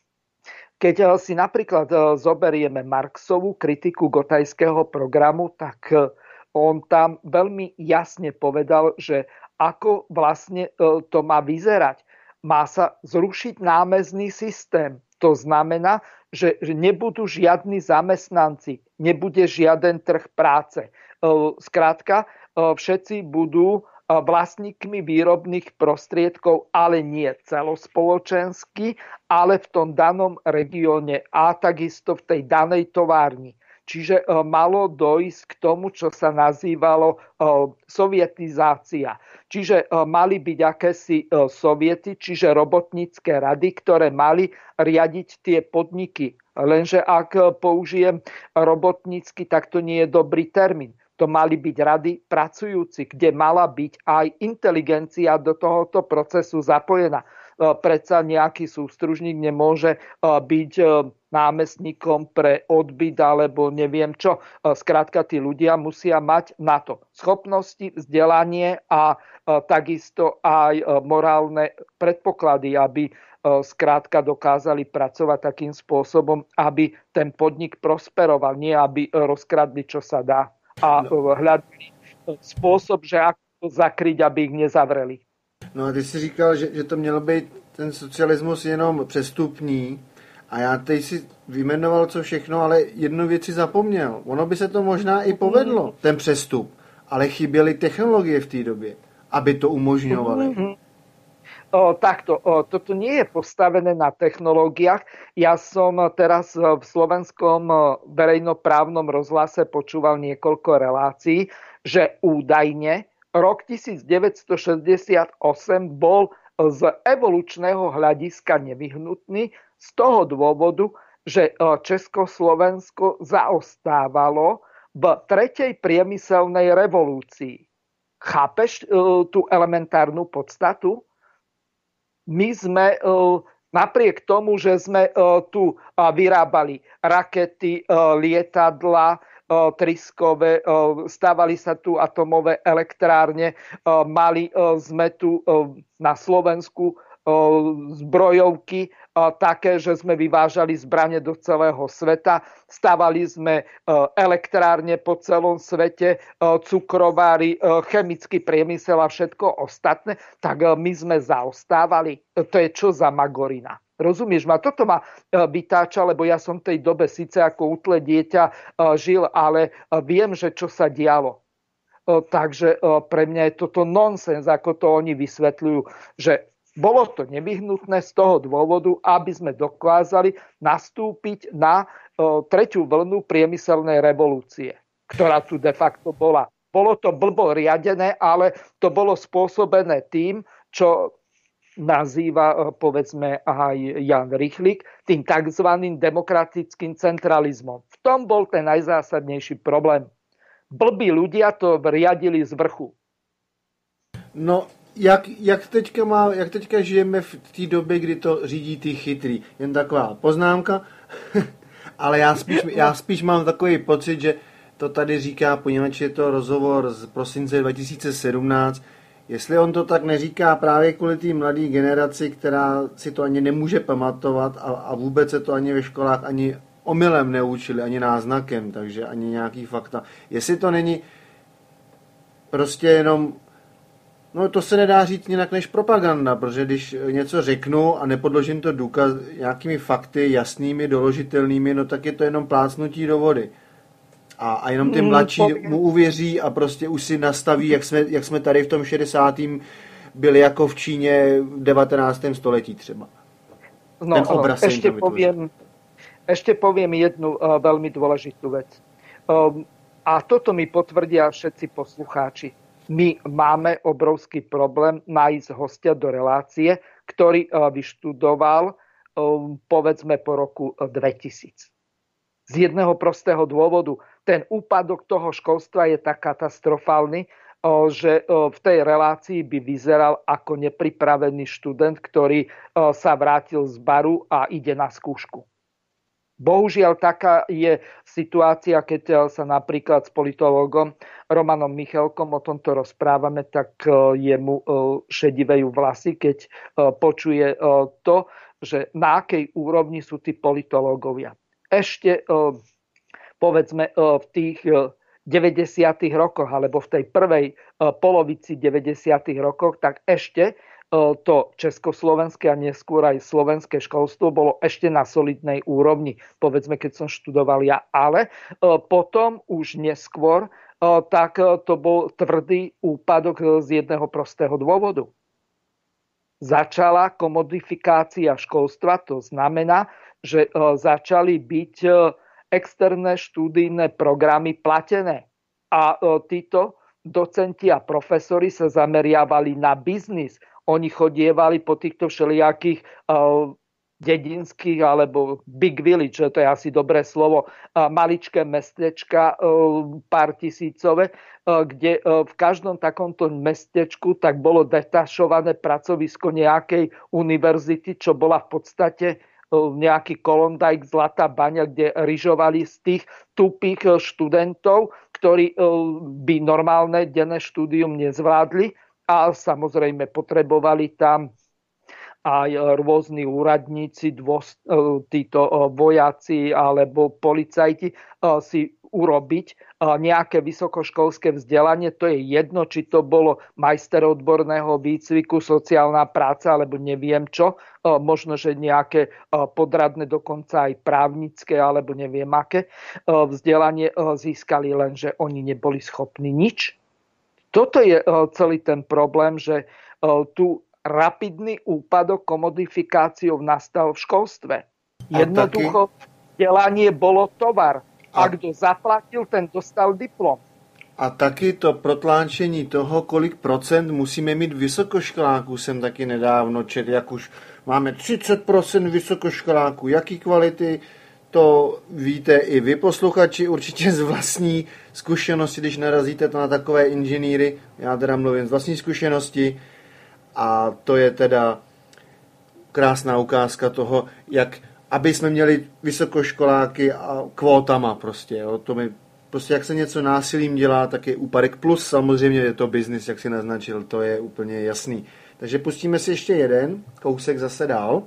keď si napríklad zoberieme Marxovú kritiku Gothajského programu, tak on tam veľmi jasne povedal, že ako vlastne to má vyzerať. Má sa zrušiť námezný systém. To znamená, že nebudú žiadni zamestnanci, nebude žiaden trh práce. Skrátka, všetci budú vlastníkmi výrobných prostriedkov, ale nie celospoločensky, ale v tom danom regióne a takisto v tej danej továrni. Čiže malo dojsť k tomu, čo sa nazývalo sovietizácia. Čiže mali byť akési soviety, čiže robotnícke rady, ktoré mali riadiť tie podniky. Lenže ak použijem robotnícky, tak to nie je dobrý termín. To mali byť rady pracujúci, kde mala byť aj inteligencia do tohoto procesu zapojená. Predsa nejaký sústružník nemôže byť námestníkom pre odbyt alebo neviem čo. Skrátka, tí ľudia musia mať na to schopnosti, vzdelanie a takisto aj morálne predpoklady, aby skrátka dokázali pracovať takým spôsobom, aby ten podnik prosperoval, nie aby rozkradli, čo sa dá. A hľadali spôsob, že ako to zakryť, aby ich nezavreli. No a ty jsi říkal, že to mělo být ten socialismus jenom přestupný a já teď si vyjmenoval co všechno, ale jednu věc si zapomněl. Ono by se to možná i povedlo, ten přestup, ale chyběly technologie v té době, aby to umožňovaly. Toto nie je postavené na technológiách. Ja som teraz v slovenskom verejnoprávnom rozhlase počúval niekoľko relácií, že údajne rok 1968 bol z evolučného hľadiska nevyhnutný z toho dôvodu, že Československo zaostávalo v tretej priemyselnej revolúcii. Chápeš tú elementárnu podstatu? My sme napriek tomu, že sme tu vyrábali rakety, lietadla, tryskové, stávali sa tu atomové elektrárne, mali sme tu na Slovensku zbrojovky také, že sme vyvážali zbrane do celého sveta, stavali sme elektrárne po celom svete, cukrovári, chemický priemysel a všetko ostatné, tak my sme zaostávali. To je čo za magorina? Rozumieš ma? Toto ma vytáča, lebo ja som v tej dobe síce ako útle dieťa žil, ale viem, že čo sa dialo. Takže pre mňa je toto nonsens, ako to oni vysvetľujú, že bolo to nevyhnutné z toho dôvodu, aby sme dokázali nastúpiť na tretiu vlnu priemyselnej revolúcie, ktorá tu de facto bola. Bolo to blbo riadené, ale to bolo spôsobené tým, čo nazýva, povedzme, aj Jan Rychlík, tým tzv. Demokratickým centralizmom. V tom bol ten najzásadnejší problém. Blbí ľudia to riadili z vrchu. No, jak teďka žijeme v té době, kdy to řídí ty chytrý. Jen taková poznámka. Ale já spíš mám takový pocit, že to tady říká, poněvadž je to rozhovor z prosince 2017, jestli on to tak neříká právě kvůli té mladé generaci, která si to ani nemůže pamatovat a vůbec se to ani ve školách ani omylem neučili, ani náznakem, takže ani nějaký fakta. Jestli to není prostě jenom, no to se nedá říct jinak než propaganda, protože když něco řeknu a nepodložím to důkaz nějakými fakty jasnými, doložitelnými, no tak je to jenom plácnutí do vody. A jenom ty mladší mu uvěří a prostě už si nastaví, jak jsme tady v tom 60. byli jako v Číně v 19. století třeba. No, ten obraz ešte poviem jednu veľmi dôležitú vec. A toto mi potvrdia všetci poslucháči. My máme obrovský problém nájsť hostia do relácie, ktorý vyštudoval povedzme po roku 2000. Z jedného prostého dôvodu. Ten úpadok toho školstva je tak katastrofálny, že v tej relácii by vyzeral ako nepripravený študent, ktorý sa vrátil z baru a ide na skúšku. Bohužiaľ, taká je situácia, keď sa napríklad s politológom Romanom Michalkom o tomto rozprávame, tak jemu šedivejú vlasy, keď počuje to, že na akej úrovni sú tí politológovia. Ešte povedzme v tých 90. rokoch alebo v tej prvej polovici 90. rokoch, tak ešte to československé a neskôr aj slovenské školstvo bolo ešte na solidnej úrovni, povedzme, keď som študoval ja. Ale potom už neskôr tak to bol tvrdý úpadok z jedného prostého dôvodu. Začala komodifikácia školstva, to znamená, že začali byť externé študijné programy platené. A títo docenti a profesori sa zameriavali na biznis. Oni chodievali po týchto všelijakých dedinských alebo big village, to je asi dobré slovo, maličké mestečka, pár tisícové, kde v každom takomto mestečku tak bolo detašované pracovisko nejakej univerzity, čo bola v podstate nejaký Klondike, Zlatá baňa, kde ryžovali z tých tupých študentov, ktorí by normálne denné štúdium nezvládli a samozrejme potrebovali tam aj rôzni úradníci, títo vojaci alebo policajti si urobiť nejaké vysokoškolské vzdelanie. To je jedno, či to bolo majster odborného výcviku, sociálna práca alebo neviem čo. Možno, že nejaké podradné, dokonca aj právnické alebo neviem aké vzdelanie získali, lenže oni neboli schopní nič. Toto je celý ten problém, že tu rapidný úpadok komodifikáciou nastal v školstve. Jednoducho vzdelanie bolo tovar. A kdo zaplatil, ten dostal diplom. A taky to protláčení toho, kolik procent musíme mít vysokoškoláků, jsem taky nedávno četl, jak už máme 30% vysokoškoláků. Jaký kvality, to víte i vy posluchači určitě z vlastní zkušenosti, když narazíte to na takové inženýry, já teda mluvím z vlastní zkušenosti, a to je teda krásná ukázka toho, jak aby jsme měli vysokoškoláky a kvótama prostě. Jo. To mi, prostě jak se něco násilím dělá, tak je úpadek. Plus samozřejmě je to biznis, jak si naznačil, to je úplně jasný. Takže pustíme si ještě jeden kousek zase dál.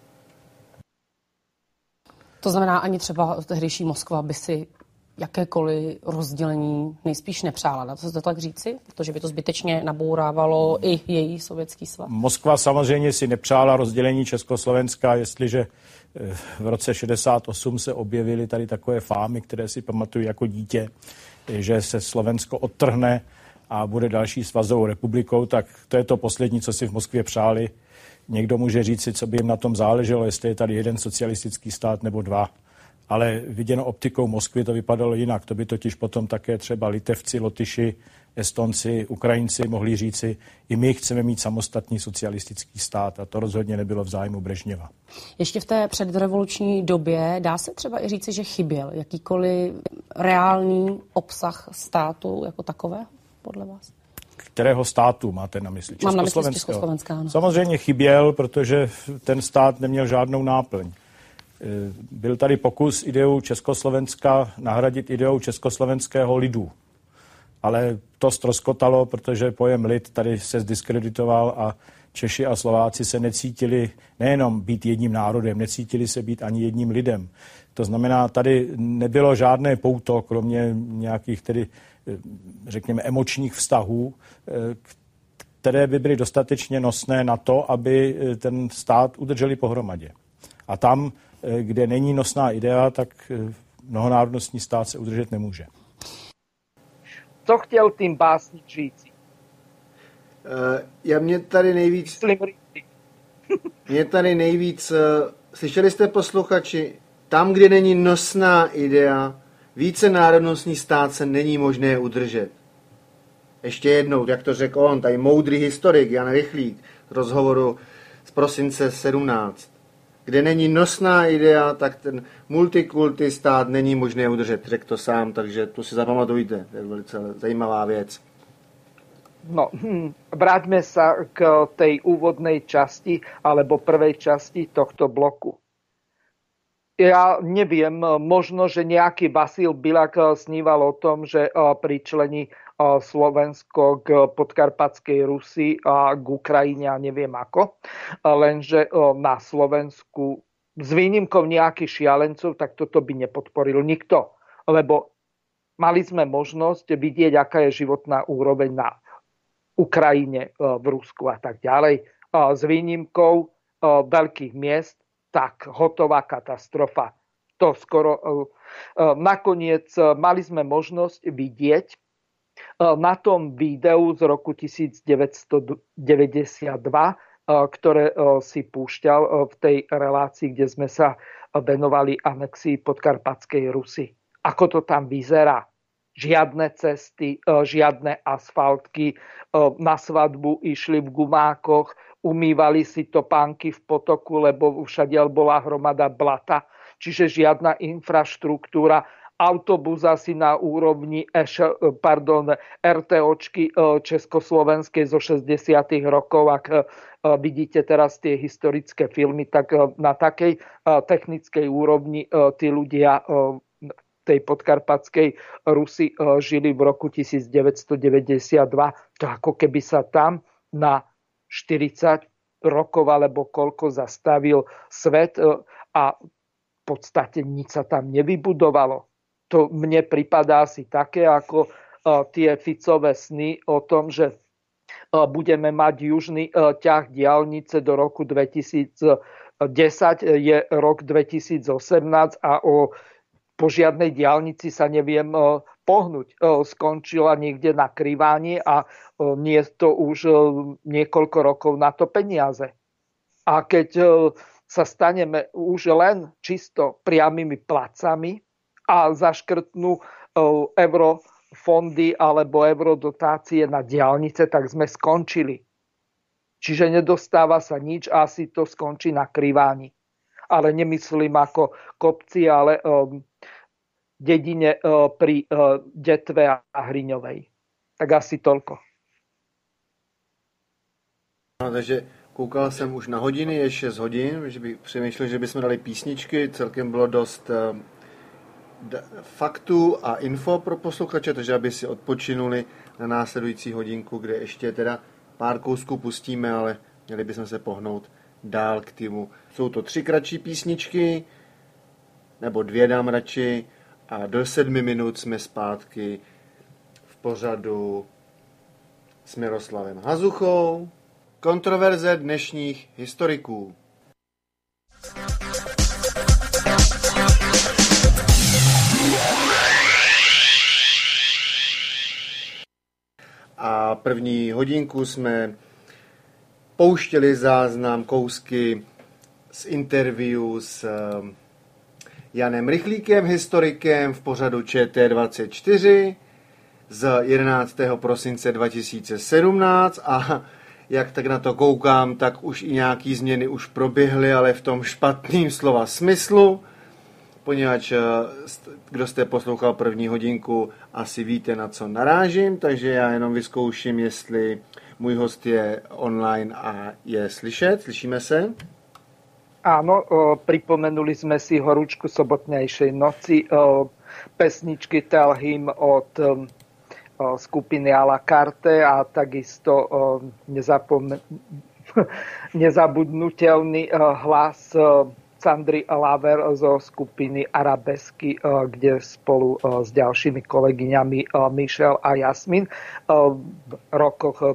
To znamená, ani třeba tehdejší Moskva by si jakékoliv rozdělení nejspíš nepřála. Dá se to tak říci? Protože by to zbytečně nabourávalo i její sovětský svaz. Moskva samozřejmě si nepřála rozdělení Československa, jestliže v roce 68 se objevily tady takové fámy, které si pamatuju jako dítě, že se Slovensko odtrhne a bude další svazovou republikou, tak to je to poslední, co si v Moskvě přáli. Někdo může říct, co by jim na tom záleželo, jestli je tady jeden socialistický stát nebo dva. Ale viděno optikou Moskvy to vypadalo jinak. To by totiž potom také třeba Litevci, Lotyši, Estonci, Ukrajinci mohli říci, i my chceme mít samostatný socialistický stát a to rozhodně nebylo v zájmu Brežněva. Ještě v té předrevoluční době dá se třeba i říci, že chyběl jakýkoliv reálný obsah státu jako takové, podle vás? Kterého státu máte na mysli? Mám na mysli Československa, ano. Samozřejmě chyběl, protože ten stát neměl žádnou náplň. Byl tady pokus ideu Československa nahradit ideou československého lidu. Ale to ztroskotalo, protože pojem lid tady se zdiskreditoval a Češi a Slováci se necítili nejenom být jedním národem, necítili se být ani jedním lidem. To znamená, tady nebylo žádné pouto, kromě nějakých tedy, řekněme, emočních vztahů, které by byly dostatečně nosné na to, aby ten stát udrželi pohromadě. A tam, kde není nosná idea, tak mnohonárodnostní stát se udržet nemůže. Co chtěl tím básník říci? Mě tady nejvíc, slyšeli jste, posluchači, tam, kde není nosná idea, více národnostní stát se není možné udržet. Ještě jednou, jak to řekl on, tady moudrý historik Jan Rychlík z rozhovoru z prosince 17. Kde není nosná idea, tak ten multikulty stát není možné udržet. Řekl to sám, takže to si zapamatujte. To je velice zajímavá věc. No, vráťme sa k tej úvodnej časti alebo prvej časti tohto bloku. Ja neviem, možno, že nejaký Vasil Bilak sníval o tom, že pričlení Slovensko k podkarpatskej Rusi a k Ukrajine a neviem ako. Lenže na Slovensku s výnimkou nejakých šialencov, tak toto by nepodporil nikto. Lebo mali sme možnosť vidieť, aká je životná úroveň na Ukrajine, v Rusku a tak ďalej. S výnimkou veľkých miest, tak hotová katastrofa. To skoro nakoniec mali sme možnosť vidieť na tom videu z roku 1992, ktoré si púšťal v tej relácii, kde sme sa venovali anexii podkarpatskej Rusy. Ako to tam vyzerá? Žiadne cesty, žiadne asfaltky, na svadbu išli v gumákoch, umývali si topánky v potoku, lebo všadiaľ bola hromada blata, čiže žiadna infraštruktúra, autobus asi na úrovni RTOčky československej zo 60. rokov. Ak vidíte teraz tie historické filmy, tak na takej technickej úrovni tí ľudia tej podkarpatskej Rusy žili v roku 1992. To ako keby sa tam na 40 rokov alebo koľko zastavil svet a v podstate nič sa tam nevybudovalo. To mne pripadá asi také ako tie Ficové sny o tom, že budeme mať južný ťah diaľnice do roku 2010, je rok 2018 a po žiadnej diaľnici sa neviem pohnúť. Skončila niekde na Kriváni a nie je to už niekoľko rokov na to peniaze. A keď sa staneme už len čisto priamými placami a zaškrtnú eurofondy alebo eurodotácie na diaľnice, tak sme skončili. Čiže nedostáva sa nič a asi to skončí na Kriváni. Ale nemyslím ako kopci, ale dedine pri Detve a Hriňovej. Tak asi toľko. No, takže koukal jsem už na hodiny, je 6 hodin, že bych přemýšlel, že bychom dali písničky, celkem bylo dost faktů a info pro posluchače, takže aby si odpočinuli na následující hodinku, kde ještě teda pár kousků pustíme, ale měli bychom se pohnout dál k týmu. Jsou to 3 kratší písničky, nebo 2 dám radši, a do 7 minut jsme zpátky v pořadu s Miroslavem Hazuchou. Kontroverze dnešních historiků. A první hodinku jsme pouštěli záznam, kousky z interview s Janem Rychlíkem, historikem v pořadu ČT24 z 11. prosince 2017 a jak tak na to koukám, tak už i nějaký změny už proběhly, ale v tom špatným slova smyslu, poněvadž kdo jste poslouchal první hodinku, asi víte, na co narážím, takže já jenom vyzkouším, jestli můj host je online a je slyšet. Slyšíme se? Áno, pripomenuli sme si horúčku sobotnejšej noci, pesničky Tell Him od skupiny à la carte a takisto nezabudnutelný hlas Sandry Laver zo skupiny Arabesky, kde spolu s ďalšími kolegyňami Michelle a Jasmin v rokoch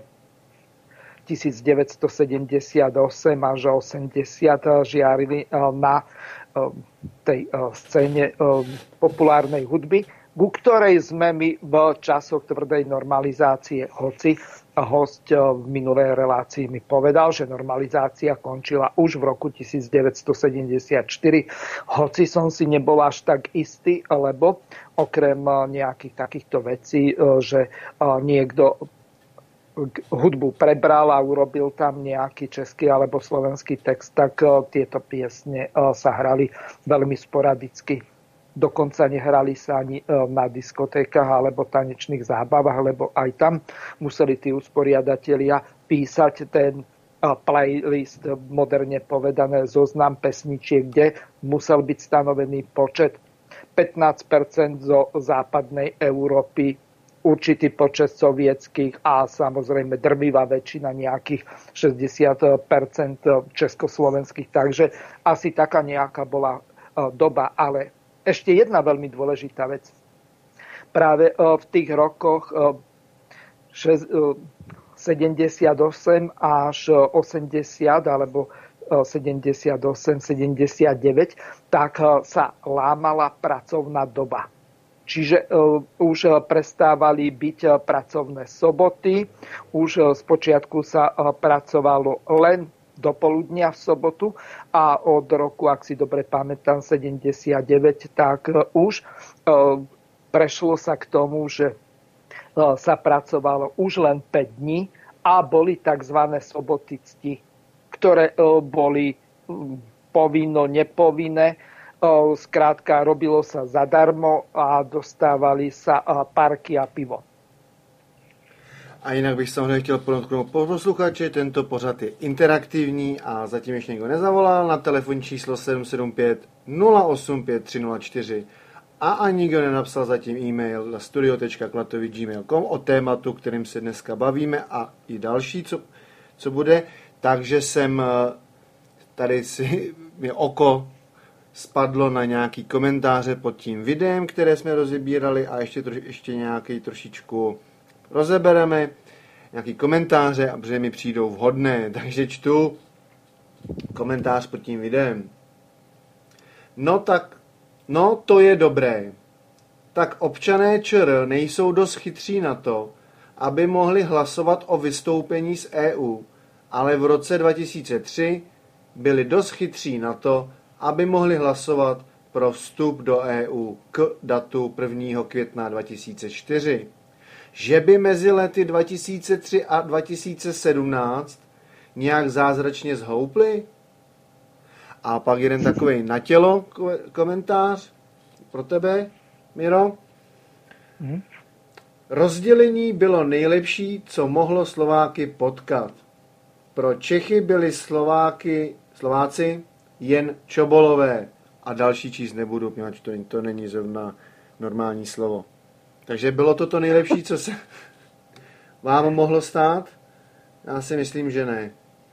1978 až 80 žiarili na tej scéne populárnej hudby, ku ktorej sme my v časoch tvrdej normalizácie, hoci host v minulej relácii mi povedal, že normalizácia končila už v roku 1974, hoci som si nebol až tak istý, lebo okrem nejakých takýchto vecí, že niekto hudbu prebral a urobil tam nejaký český alebo slovenský text, tak tieto piesne sa hrali veľmi sporadicky. Dokonca nehrali sa ani na diskotékach alebo tanečných zábavách, lebo aj tam museli tí usporiadatelia písať ten playlist, moderne povedané zoznam pesničiek, kde musel byť stanovený počet 15% zo západnej Európy, určitý počet sovietských a samozrejme drvivá väčšina, nejakých 60% československých. Takže asi taká nejaká bola doba. Ale ešte jedna veľmi dôležitá vec. Práve v tých rokoch 78 až 80 alebo 78, 79, tak sa lámala pracovná doba. Čiže už prestávali byť pracovné soboty, už spočiatku sa pracovalo len do poludnia v sobotu a od roku, ak si dobre pamätám, 79, tak už prešlo sa k tomu, že sa pracovalo už len 5 dní a boli tzv. Soboty cti, ktoré boli povinno, nepovinné. Skrátka, robilo sa zadarmo a dostávali sa parky a pivo. A jinak bych samozřejmě chtěl podotknout posluchači, tento pořad je interaktivní a zatím ještě někdo nezavolal na telefonní číslo 775 085 304 a ani nikdo nenapsal zatím e-mail na studio.klatovy@gmail.com o tématu, kterým se dneska bavíme a i další, co bude. Takže jsem tady si mě oko spadlo na nějaký komentáře pod tím videem, které jsme rozebírali a ještě nějaký trošičku rozebereme, nějaký komentáře, a protože mi přijdou vhodné, takže čtu komentář pod tím videem. No to je dobré. Tak občané ČR nejsou dost chytří na to, aby mohli hlasovat o vystoupení z EU, ale v roce 2003 byli dost chytří na to, aby mohli hlasovat pro vstup do EU k datu 1. května 2004. Že by mezi lety 2003 a 2017 nějak zázračně zhoupli? A pak jeden takovej na tělo komentář pro tebe, Miro. Rozdělení bylo nejlepší, co mohlo Slováky potkat. Pro Čechy byli Slováci jen čobolové. A další číst nebudu, protože to není zrovna normální slovo. Takže bylo to nejlepší, co se vám mohlo stát? Já si myslím, že ne.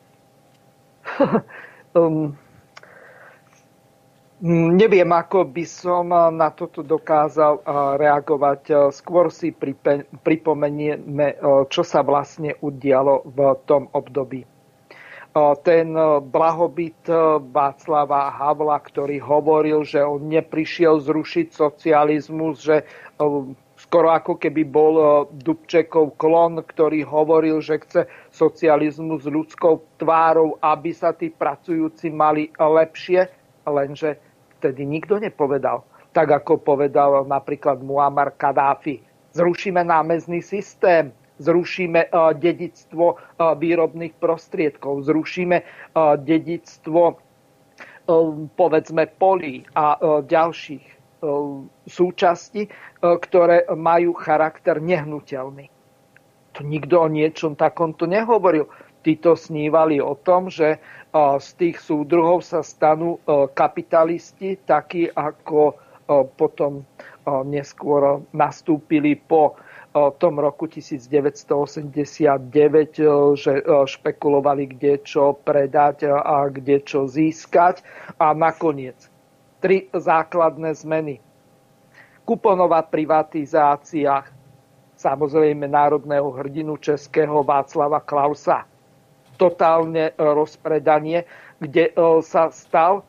Neviem, ako by som na toto dokázal reagovať. Skôr si pripomenieme, čo sa vlastne udialo v tom období. Ten blahobyt Václava Havla, ktorý hovoril, že on neprišiel zrušiť socializmus, že skoro ako keby bol Dubčekov klon, ktorý hovoril, že chce socializmus s ľudskou tvárou, aby sa tí pracujúci mali lepšie, lenže vtedy nikto nepovedal. Tak ako povedal napríklad Muammar Kadáfi. Zrušíme námezný systém, zrušíme dedičstvo výrobných prostriedkov, zrušíme dedičstvo povedzme polí a ďalších súčastí, ktoré majú charakter nehnuteľný. To nikto o niečom takomto nehovoril. Títo snívali o tom, že z tých súdruhov sa stanú kapitalisti, takí ako potom neskôr nastúpili po tom roku 1989, že špekulovali, kde čo predať a kde čo získať. A nakoniec 3 základné zmeny. Kuponová privatizácia, samozrejme národného hrdinu českého Václava Klausa. Totálne rozpredanie, kde sa stal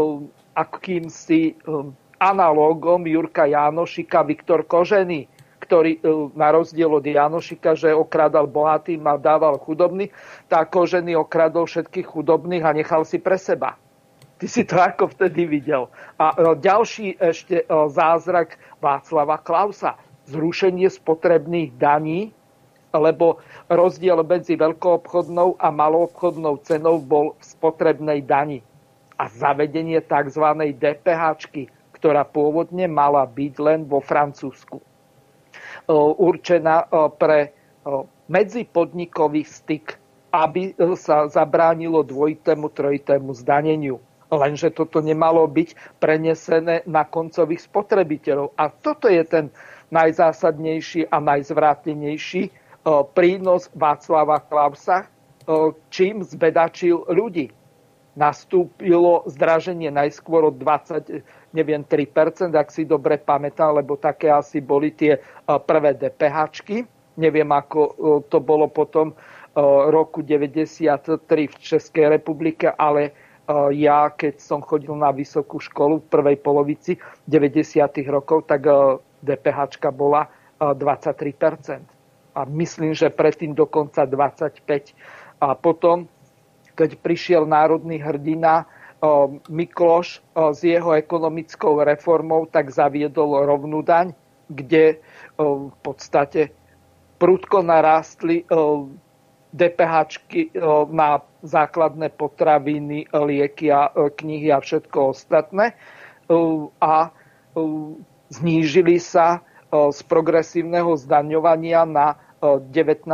akýmsi analógom Jurka Jánošika Viktor Kožený, ktorý na rozdiel od Jánošika, že okradal bohatým a dával chudobný, tak Kožený okradol všetkých chudobných a nechal si pre seba. Ty si to ako vtedy videl. A ďalší ešte zázrak Václava Klausa. Zrušenie spotrebných daní, lebo rozdiel medzi veľkoobchodnou a maloobchodnou cenou bol v spotrebnej dani. A zavedenie tzv. DPH-čky, ktorá pôvodne mala byť len vo Francúzsku. Určená pre medzipodnikový styk, aby sa zabránilo dvojitému, trojitému zdaneniu. Lenže toto nemalo byť prenesené na koncových spotrebiteľov. A toto je ten najzásadnejší a najzvrátenejší prínos Václava Klausa, čím zbedačil ľudí. Nastúpilo zdraženie najskôr od 3%, ak si dobre pamätám, lebo také asi boli tie prvé DPH-čky. Neviem, ako to bolo potom roku 1993 v Českej republike, ale ja, keď som chodil na vysokú školu v prvej polovici 90. rokov, tak DPH-čka bola 23%. A myslím, že predtým dokonca 25%. A potom, keď prišiel národný hrdina Mikloš s jeho ekonomickou reformou, tak zaviedol rovnú daň, kde v podstate prudko narástli DPH-čky na základné potraviny, lieky a knihy a všetko ostatné. A znížili sa z progresívneho zdaňovania na 19%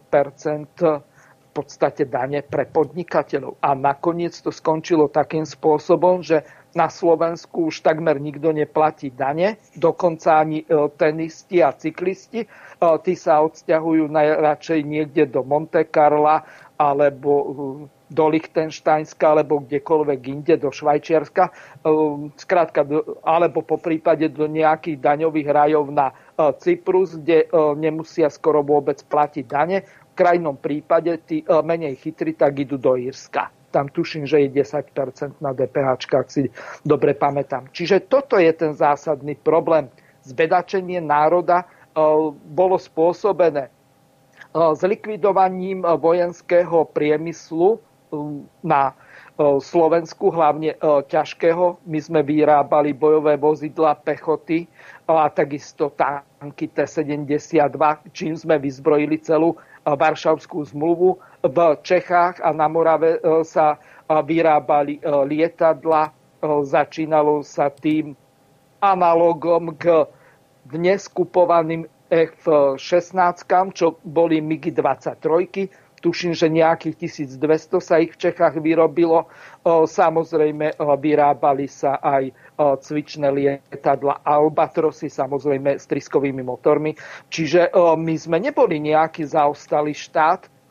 v podstate dane pre podnikateľov. A nakoniec to skončilo takým spôsobom, že na Slovensku už takmer nikto neplatí dane, dokonca ani tenisti a cyklisti. Tí sa odsťahujú najradšej niekde do Monte Carla alebo do Lichtensteinska alebo kdekoľvek inde, do Švajčiarska, skrátka, alebo po prípade do nejakých daňových rajov na Cyprus, kde nemusia skoro vôbec platiť dane. V krajnom prípade tí menej chytrí tak idú do Írska. Tam tuším, že je 10% na DPH, ak si dobre pamätám. Čiže toto je ten zásadný problém. Zbedačenie národa bolo spôsobené zlikvidovaním vojenského priemyslu na Slovensku, hlavne ťažkého. My sme vyrábali bojové vozidlá pechoty a takisto tanky T-72, čím sme vyzbrojili celú Varšavskú zmluvu. V Čechách a na Morave sa vyrábali lietadla. Začínalo sa tým analogom k dnes kupovaným F-16, čo boli MiG-23. Tuším, že nejakých 1200 sa ich v Čechách vyrobilo. Samozrejme, vyrábali sa aj cvičné lietadla Albatrosy, samozrejme s tryskovými motormi. Čiže my sme neboli nejaký zaostalý štát,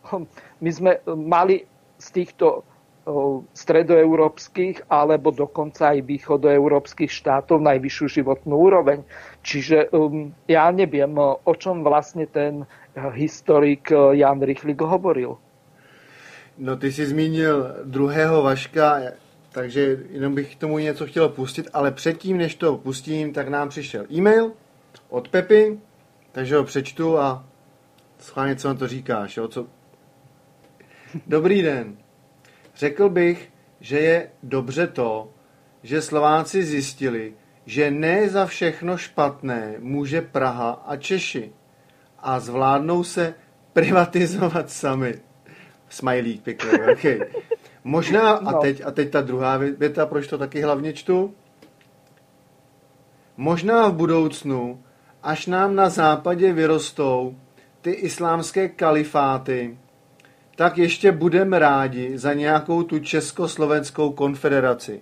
my sme mali z týchto stredoeurópskych alebo dokonca aj východoeurópskych štátov najvyššiu životnú úroveň. Čiže ja neviem, o čom vlastne ten historik Jan Rychlík hovoril. No ty jsi zmínil druhého Vaška, takže jenom bych k tomu něco chtěl pustit, ale předtím, než to pustím, tak nám přišel e-mail od Pepy, takže ho přečtu a schválně, co na to říkáš. Jo? Dobrý den. Řekl bych, že je dobře to, že Slováci zjistili, že ne za všechno špatné může Praha a Češi a zvládnou se privatizovat sami. Smajlík, pěkný, okay. Možná, a teď ta druhá věta, proč to taky hlavně čtu. Možná v budoucnu, až nám na západě vyrostou ty islámské kalifáty, tak ještě budeme rádi za nějakou tu Československou konfederaci.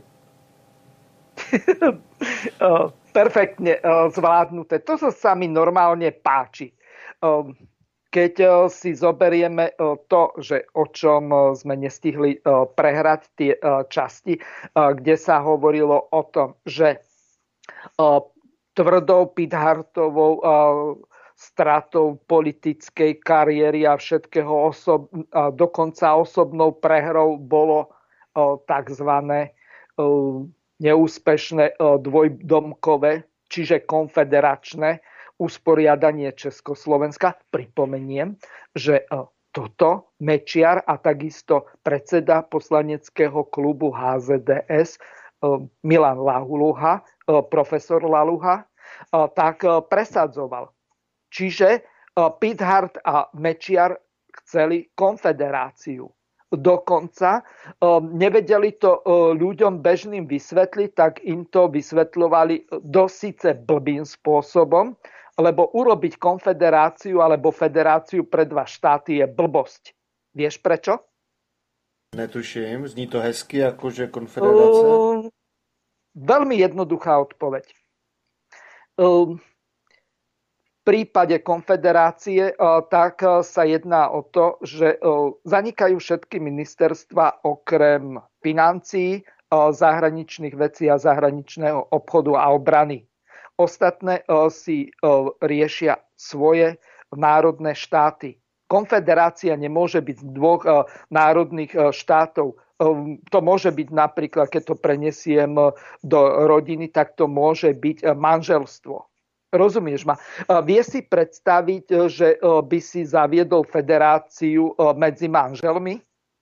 Perfektne zvládnuté. To sa mi normálne páči. Keď si zoberieme to, že o čom sme nestihli prehrať tie časti, kde sa hovorilo o tom, že tvrdou Pithardtovou stratou politickej kariéry a všetkého dokonca osobnou prehrou bolo takzvané neúspešné dvojdomkové, čiže konfederačné usporiadanie Československa. Pripomeniem, že toto Mečiar a takisto predseda poslaneckého klubu HZDS Milan Laluha, profesor Laluha, tak presadzoval. Čiže Pithard a Mečiar chceli konfederáciu. Dokonca nevedeli to ľuďom bežným vysvetliť, tak im to vysvetľovali dosíce blbým spôsobom, lebo urobiť konfederáciu alebo federáciu pre dva štáty je blbosť. Vieš prečo? Netuším, zní to hezky, akože konfederácia. Veľmi jednoduchá odpoveď. V prípade konfederácie tak sa jedná o to, že zanikajú všetky ministerstva okrem financií, zahraničných vecí a zahraničného obchodu a obrany. Ostatné si riešia svoje národné štáty. Konfederácia nemôže byť z dvoch národných štátov. To môže byť napríklad, keď to prenesiem do rodiny, tak to môže byť manželstvo. Rozumieš ma? Vie si predstaviť, že by si zaviedol federáciu medzi manželmi?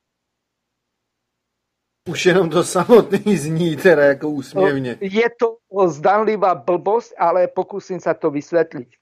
Už jenom to samotný zní teda ako úsmievne. Je to zdanlivá blbosť, ale pokúsim sa to vysvetliť.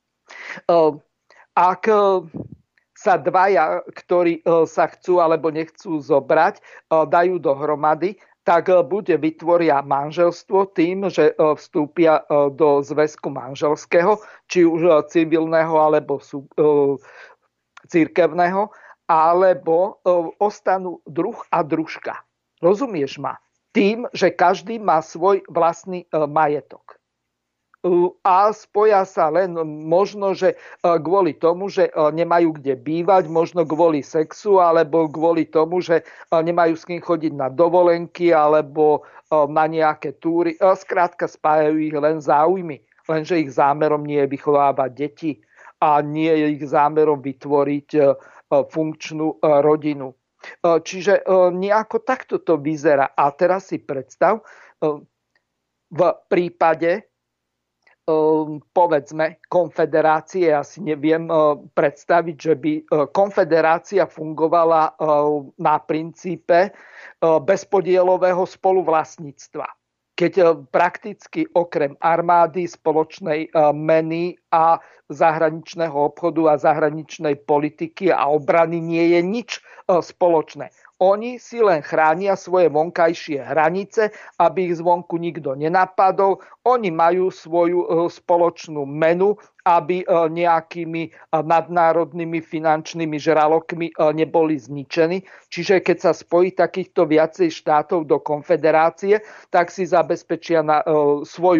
Ak sa dvaja, ktorí sa chcú alebo nechcú zobrať, dajú dohromady, tak buď vytvoria manželstvo tým, že vstúpia do zväzku manželského, či už civilného alebo cirkevného, alebo ostanú druh a družka. Rozumieš ma? Tým, že každý má svoj vlastný majetok. A spoja sa len možno, že kvôli tomu, že nemajú kde bývať, možno kvôli sexu, alebo kvôli tomu, že nemajú s kým chodiť na dovolenky, alebo na nejaké túry. Skrátka spájajú ich len záujmy. Lenže ich zámerom nie je vychovávať deti a nie je ich zámerom vytvoriť funkčnú rodinu. Čiže nejako takto to vyzerá. A teraz si predstav, v prípade povedzme konfederácie, ja si neviem predstaviť, že by konfederácia fungovala na princípe bezpodielového spoluvlastníctva. Keď prakticky okrem armády, spoločnej meny a zahraničného obchodu a zahraničnej politiky a obrany nie je nič spoločné. Oni si len chránia svoje vonkajšie hranice, aby ich zvonku nikto nenapadol. Oni majú svoju spoločnú menu, aby nejakými nadnárodnými finančnými žralokmi neboli zničení. Čiže keď sa spojí takýchto viacej štátov do konfederácie, tak si zabezpečia na svoju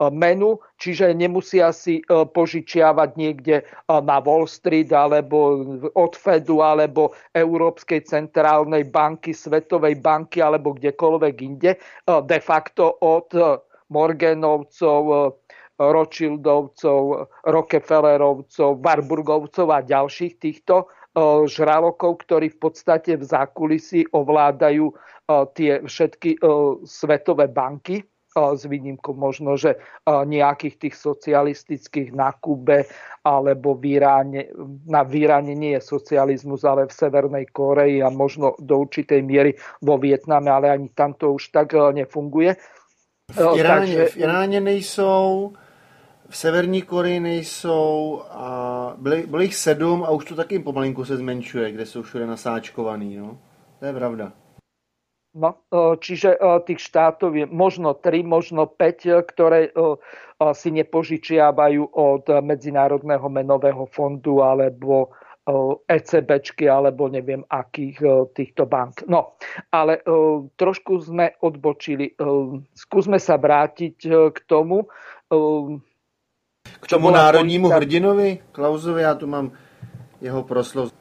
menu, čiže nemusia si požičiavať niekde na Wall Street alebo od Fedu alebo Európskej centrálnej banky, Svetovej banky alebo kdekoľvek inde. De facto od Morganovcov, Rothschildovcov, Rockefellerovcov, Warburgovcov a ďalších týchto žralokov, ktorí v podstate v zákulisí ovládajú tie všetky svetové banky, s výnimkou možno, že nejakých tých socialistických na Kube alebo v Iráne. V Iráne nie je socializmus, ale v Severnej Kórei a možno do určitej miery vo Vietname, ale ani tam to už tak nefunguje. V Iráně nejsou, v Severní Koreji nejsou, a bylo jich 7 a už to taky pomalinku se zmenšuje, kde jsou všude nasáčkovaný. No? To je pravda. No, čiže tých štátov je možno 3, možno 5, ktoré si nepožičiavajú od Medzinárodného menového fondu alebo ECBčky alebo neviem akých týchto bank. No, ale trošku sme odbočili. Skúsme sa vrátiť k tomu. K tomu národnímu hrdinovi Klausovi, já tu mám jeho proslov.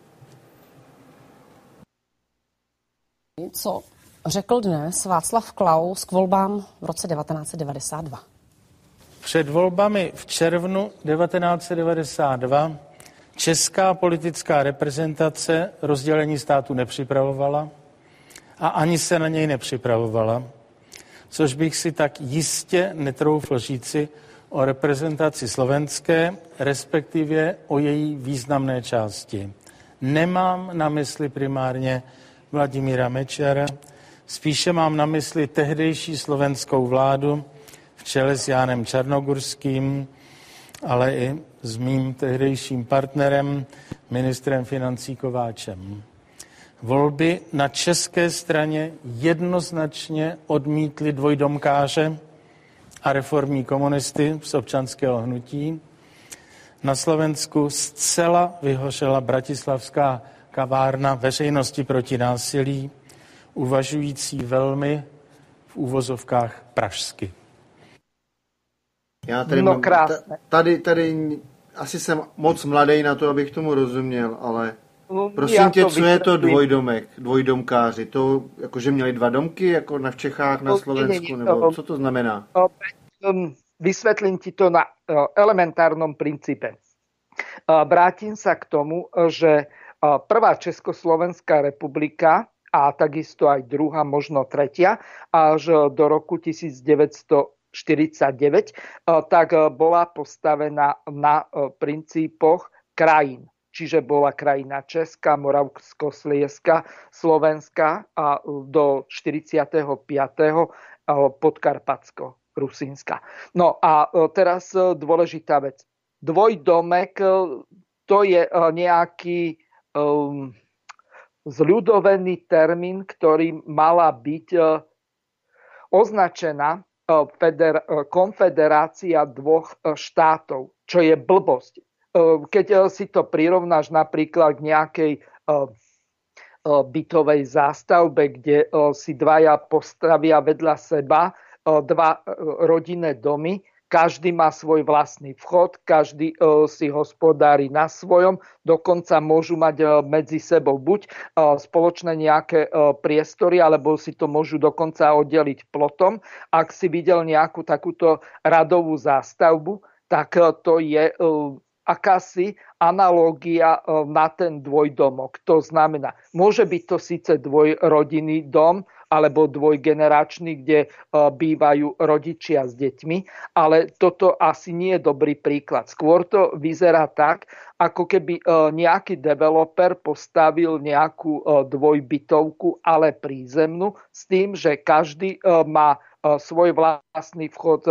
Co řekl dnes Václav Klaus k volbám v roce 1992? Před volbami v červnu 1992 česká politická reprezentace rozdělení státu nepřipravovala a ani se na něj nepřipravovala, což bych si tak jistě netroufl říci o reprezentaci slovenské, respektive o její významné části. Nemám na mysli primárně Vladimíra Mečiara, spíše mám na mysli tehdejší slovenskou vládu v čele s Jánem Čarnogurským, ale i s mým tehdejším partnerem, ministrem financí Kováčem. Volby na české straně jednoznačně odmítly dvojdomkáře a reformní komunisty z občanského hnutí. Na Slovensku zcela vyhořela bratislavská kavárna veřejnosti proti násilí, uvažující velmi v úvozovkách pražsky. Já tady asi jsem moc mladý na to, abych tomu rozuměl, ale prosím tě, co je to dvojdomek, dvojdomkáři? To jakože měli 2 domky, jako v Čechách, na Slovensku, nebo co to znamená? Vysvetlím ti to na elementárnom princípe. Vrátim sa k tomu, že prvá Československá republika a takisto aj druhá, možno tretia, až do roku 1949, tak bola postavená na princípoch krajín. Čiže bola krajina Česká, Moravsko-Slieska, Slovenská a do 45. Podkarpatsko-Rusínska. No a teraz dôležitá vec. Dvojdomek to je nejaký zľudovený termín, ktorý mala byť označená konfederácia 2 štátov, čo je blbosť. Keď si to prirovnáš napríklad k nejakej bytovej zástavbe, kde si 2 postavia vedľa seba 2 rodinné domy, každý má svoj vlastný vchod, každý si hospodári na svojom, dokonca môžu mať medzi sebou buď spoločné nejaké priestory, alebo si to môžu dokonca oddeliť plotom. Ak si videl nejakú takúto radovú zástavbu, tak to je akási analógia na ten dvojdomok. To znamená, môže byť to síce dvojrodinný dom, alebo dvojgeneračný, kde bývajú rodičia s deťmi, ale toto asi nie je dobrý príklad. Skôr to vyzerá tak, ako keby nejaký developer postavil nejakú dvojbytovku, ale prízemnú, s tým, že každý má svoj vlastný vchod,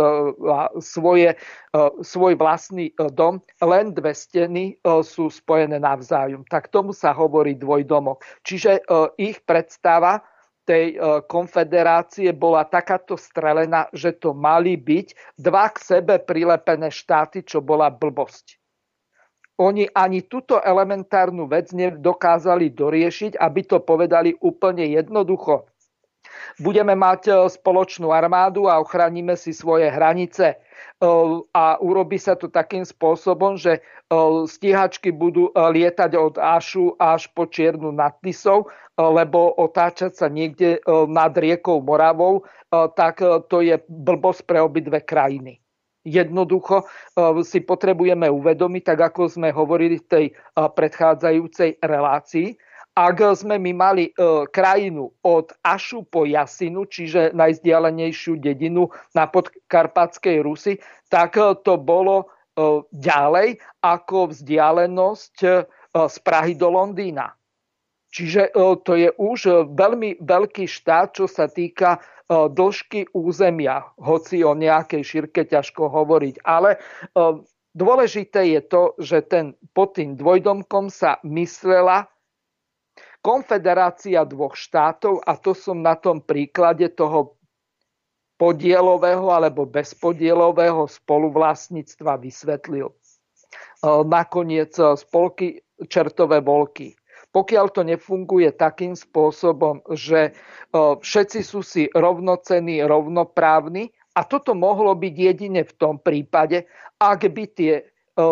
svoj vlastný dom, len 2 steny sú spojené navzájom. Tak tomu sa hovorí dvojdomok. Čiže ich predstava tej konfederácie bola takáto strelená, že to mali byť 2 k sebe prilepené štáty, čo bola blbosť. Oni ani túto elementárnu vec nedokázali doriešiť, aby to povedali úplne jednoducho. Budeme mať spoločnú armádu a ochránime si svoje hranice. A urobí sa to takým spôsobom, že stíhačky budú lietať od Ašu až po Čiernu nad Tisou, lebo otáčať sa niekde nad riekou Moravou, tak to je blbosť pre obidve krajiny. Jednoducho si potrebujeme uvedomiť, tak ako sme hovorili v tej predchádzajúcej relácii, ak sme my mali krajinu od Ašu po Jasinu, čiže najzdialenejšiu dedinu na podkarpatskej Rusi, tak to bolo ďalej ako vzdialenosť z Prahy do Londýna. Čiže to je už veľmi veľký štát, čo sa týka dĺžky územia, hoci o nejakej šírke ťažko hovoriť. Ale dôležité je to, že pod tým dvojdomkom sa myslela konfederácia dvoch štátov a to som na tom príklade toho podielového alebo bezpodielového spoluvlastníctva vysvetlil. Nakoniec spolky čertové volky. Pokiaľ to nefunguje takým spôsobom, že všetci sú si rovnocenní, rovnoprávni, a toto mohlo byť jedine v tom prípade, ak by tie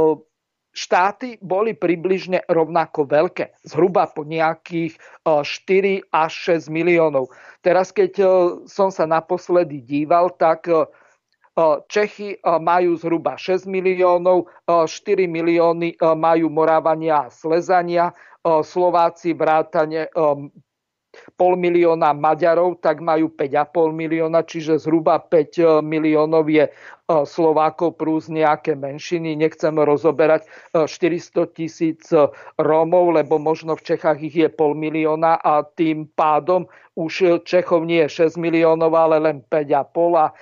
štáty boli približne rovnako veľké, zhruba po nejakých 4 až 6 miliónov. Teraz, keď som sa naposledy díval, tak Čechy majú zhruba 6 miliónov, 4 milióny majú Moravania a Slezania, Slováci vrátane 0,5 milióna Maďarov, tak majú 5,5 milióna, čiže zhruba 5 miliónov je Slovákov plus nejaké menšiny. Nechcem rozoberať 400 000 Rómov, lebo možno v Čechách ich je 0,5 milióna a tým pádom už Čechov nie je 6 miliónov, ale len 5,5. A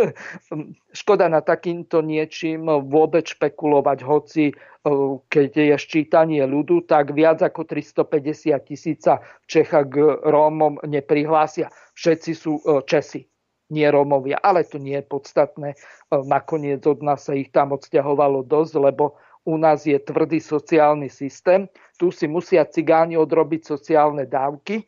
škoda na takýmto niečím vôbec špekulovať, hoci keď je ščítanie ľudu, tak viac ako 350 000 v Čechách k Rómom neprihlásia. Všetci sú Česi, nie Rómovia, ale to nie je podstatné. Nakoniec od nás sa ich tam odsťahovalo dosť, lebo u nás je tvrdý sociálny systém. Tu si musia cigáni odrobiť sociálne dávky.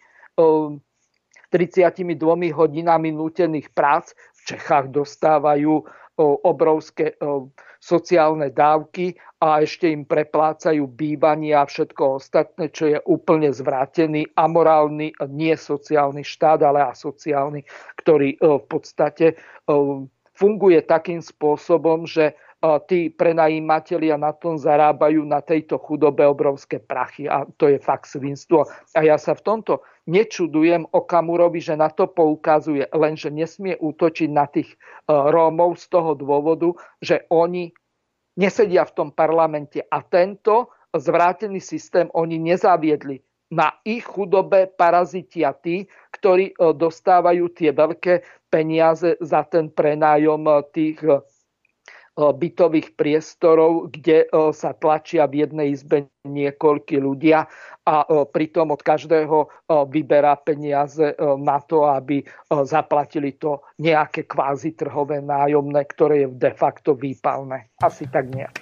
32 hodinami nútených prác v Čechách dostávajú obrovské sociálne dávky a ešte im preplácajú bývanie a všetko ostatné, čo je úplne zvrátený, amorálny, nie sociálny štát, ale asociálny, ktorý v podstate funguje takým spôsobom, že tí prenajímatelia na tom zarábajú na tejto chudobe obrovské prachy a to je fakt svinstvo. A ja sa v tomto nečudujem Okamurovi, že na to poukazuje, lenže nesmie útočiť na tých Rómov z toho dôvodu, že oni nesedia v tom parlamente a tento zvrátený systém oni nezaviedli. Na ich chudobe parazitia tí, ktorí dostávajú tie veľké peniaze za ten prenájom tých bytových priestorov, kde sa tlačia v jednej izbe niekoľkí ľudia a pritom od každého vyberá peniaze na to, aby zaplatili to nejaké kvázi trhové nájomné, ktoré je de facto výpalné. Asi tak nejak.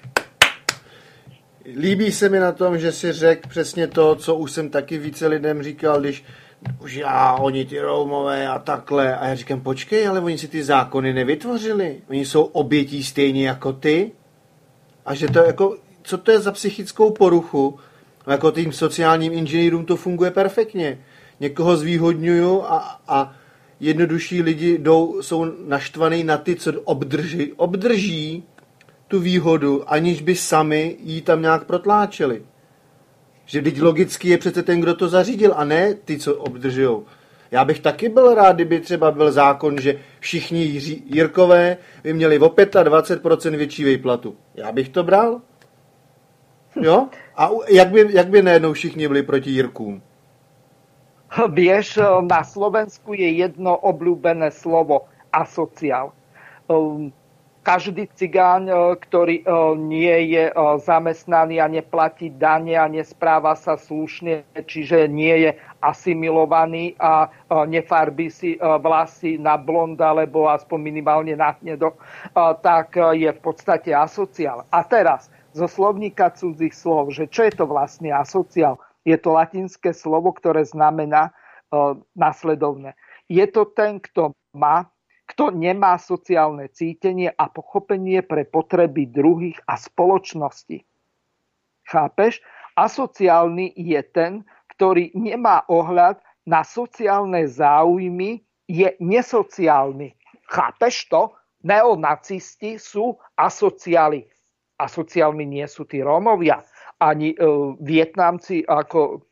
Líbí se mi na tom, že si řekl přesně to, co už jsem taky více lidem říkal, když už oni ty Rómové a takhle. A já říkám, počkej, ale oni si ty zákony nevytvořili. Oni jsou obětí stejně jako ty. A že to jako, co to je za psychickou poruchu? Jako tým sociálním inženýrům to funguje perfektně. Někoho zvýhodňuju a jednodušší lidi jsou naštvaný na ty, co obdrží tu výhodu, aniž by sami jí tam nějak protláčeli. Že teď logicky je přece ten, kdo to zařídil, a ne ty, co obdržujou. Já bych taky byl rád, kdyby třeba byl zákon, že všichni Jirkové by měli o 25% větší výplatu. Já bych to bral. Jo? A jak by najednou všichni byli proti Jirkům? Vieš, na Slovensku je jedno obľúbené slovo asociál. Každý cigáň, ktorý nie je zamestnaný a neplatí dane a nespráva sa slušne, čiže nie je asimilovaný a nefarbí si vlasy na blond alebo aspoň minimálne na hnedo, tak je v podstate asociál. A teraz zo slovníka cudzích slov, že čo je to vlastne asociál? Je to latinské slovo, ktoré znamená nasledovné. je to ten, kto nemá sociálne cítenie a pochopenie pre potreby druhých a spoločnosti. Chápeš? Asociálny je ten, ktorý nemá ohľad na sociálne záujmy, je nesociálny. Chápeš to? Neonacisti sú asociáli. Asociálmi nie sú tí Rómovia, ani Vietnamci ako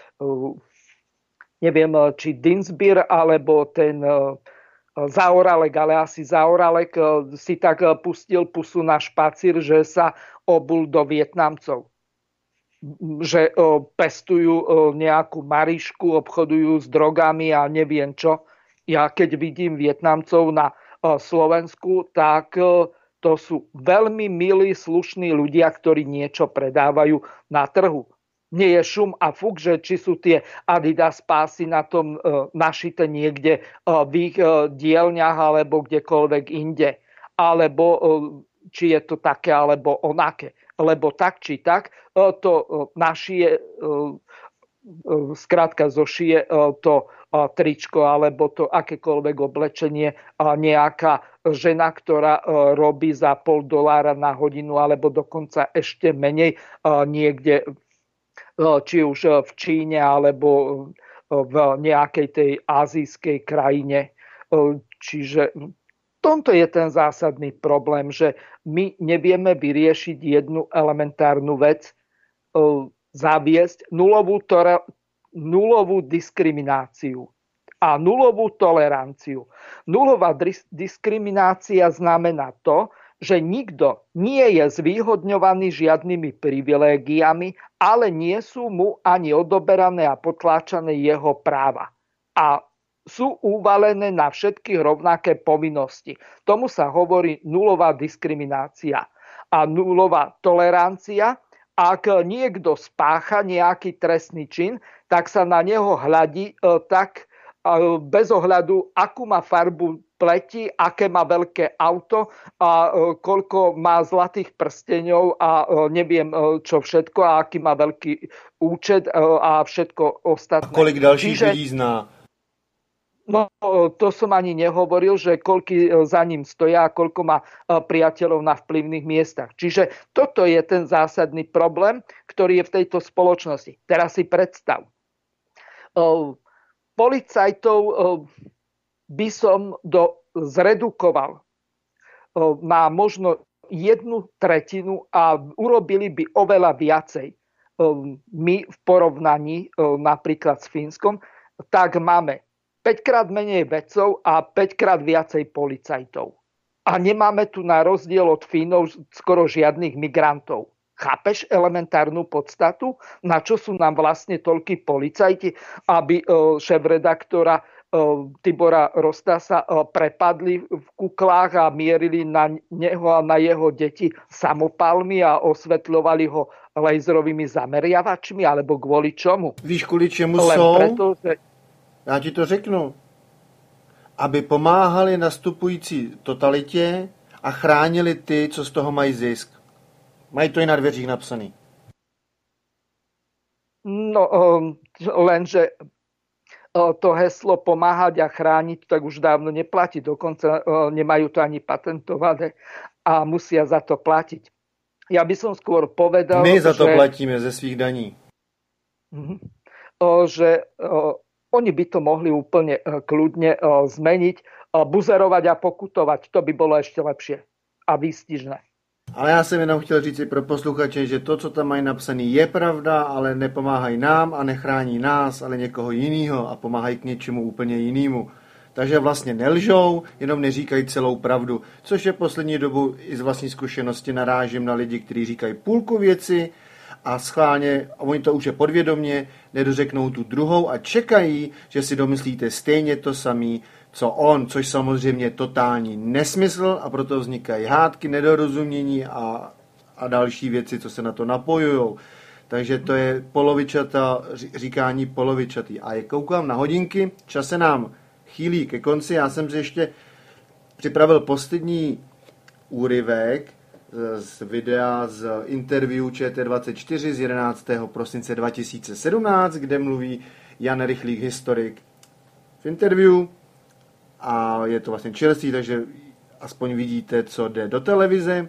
neviem, či Dinsbir, alebo ten Zaoralek, ale asi Zaoralek si tak pustil pusu na špacír, že sa obul do Vietnamcov. Že pestujú nejakú Marišku, obchodujú s drogami a neviem čo. Ja keď vidím Vietnamcov na Slovensku, tak to sú veľmi milí, slušní ľudia, ktorí niečo predávajú na trhu. Nie je šum a fuk, že či sú tie Adidas pásy na tom našité niekde v ich dielňach alebo kdekoľvek inde. Alebo či je to také alebo onaké. Lebo tak či tak to našie, skrátka zošije to tričko alebo to akékoľvek oblečenie nejaká žena, ktorá robí za $0,5 na hodinu alebo dokonca ešte menej niekde, či už v Číne alebo v nejakej tej azijskej krajine. Čiže tomto je ten zásadný problém, že my nevieme vyriešiť jednu elementárnu vec, zaviesť nulovú diskrimináciu a nulovú toleranciu. Nulová diskriminácia znamená to, že nikto nie je zvýhodňovaný žiadnymi privilégiami, ale nie sú mu ani odoberané a potláčané jeho práva. A sú uvalené na všetkých rovnaké povinnosti. Tomu sa hovorí nulová diskriminácia a nulová tolerancia. Ak niekto spácha nejaký trestný čin, tak sa na neho hľadí tak bez ohľadu, akú má farbu pleti, aké má veľké auto a koľko má zlatých prsteňov a neviem čo všetko a aký má veľký účet a všetko ostatné. A kolik dalších ľudí zná? No, to som ani nehovoril, že koľko za ním stoja a koľko má priateľov na vplyvných miestach. Čiže toto je ten zásadný problém, ktorý je v tejto spoločnosti. Teraz si predstav. Policajtov by som zredukoval na možno 1/3 a urobili by oveľa viacej. My v porovnaní napríklad s Fínskom, tak máme 5-krát menej vedcov a 5-krát viacej policajtov. A nemáme tu na rozdiel od Fínov skoro žiadnych migrantov. Chápeš elementárnu podstatu? Na čo sú nám vlastne toľkí policajti, aby šéfredaktora Tibora Rostasa prepadli v kuklách a mierili na neho a na jeho deti samopalmi a osvetľovali ho laserovými zameriavačmi, alebo kvôli čomu? Víš, kvôli čemu sú? Preto, že... Já ti to řeknu. Aby pomáhali nastupující totalitě a chránili ty, co z toho mají zisk. Mají to i na dveřích napsaný. No, lenže to heslo pomáhať a chrániť tak už dávno neplatí. Dokonca nemajú to ani patentované a musia za to platiť. Ja by som skôr povedal, my za to platíme ze svých daní. Že oni by to mohli úplne kľudne zmeniť, buzerovať a pokutovať. To by bolo ešte lepšie a výstižné. Ale já jsem jenom chtěl říct pro posluchače, že to, co tam mají napsaný, je pravda, ale nepomáhají nám a nechrání nás, ale někoho jiného a pomáhají k něčemu úplně jinému. Takže vlastně nelžou, jenom neříkají celou pravdu, což je poslední dobu i z vlastní zkušenosti narážím na lidi, kteří říkají půlku věci a schválně, a oni to už je podvědomě, nedořeknou tu druhou a čekají, že si domyslíte stejně to samý, co on, což samozřejmě je totální nesmysl a proto vznikají hádky, nedorozumění a další věci, co se na to napojujou. Takže to je polovičata, říkání polovičatý. A jak koukám na hodinky, čas se nám chýlí ke konci. Já jsem si ještě připravil poslední úryvek z videa z interview ČT24 z 11. prosince 2017, kde mluví Jan Rychlík, historik. V interview a je to vlastně čerstvý, takže aspoň vidíte, co jde do televize.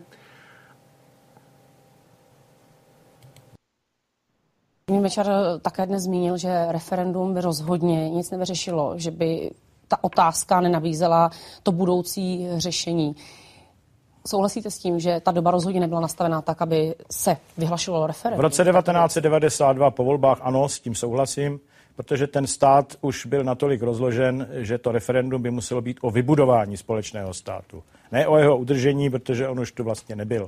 Mečiar také dnes zmínil, že referendum by rozhodně nic nevyřešilo, že by ta otázka nenabízela to budoucí řešení. Souhlasíte s tím, že ta doba rozhodně nebyla nastavená tak, aby se vyhlašovalo referendum? V roce 1992 po volbách ano, s tím souhlasím, protože ten stát už byl natolik rozložen, že to referendum by muselo být o vybudování společného státu. Ne o jeho udržení, protože on už tu vlastně nebyl.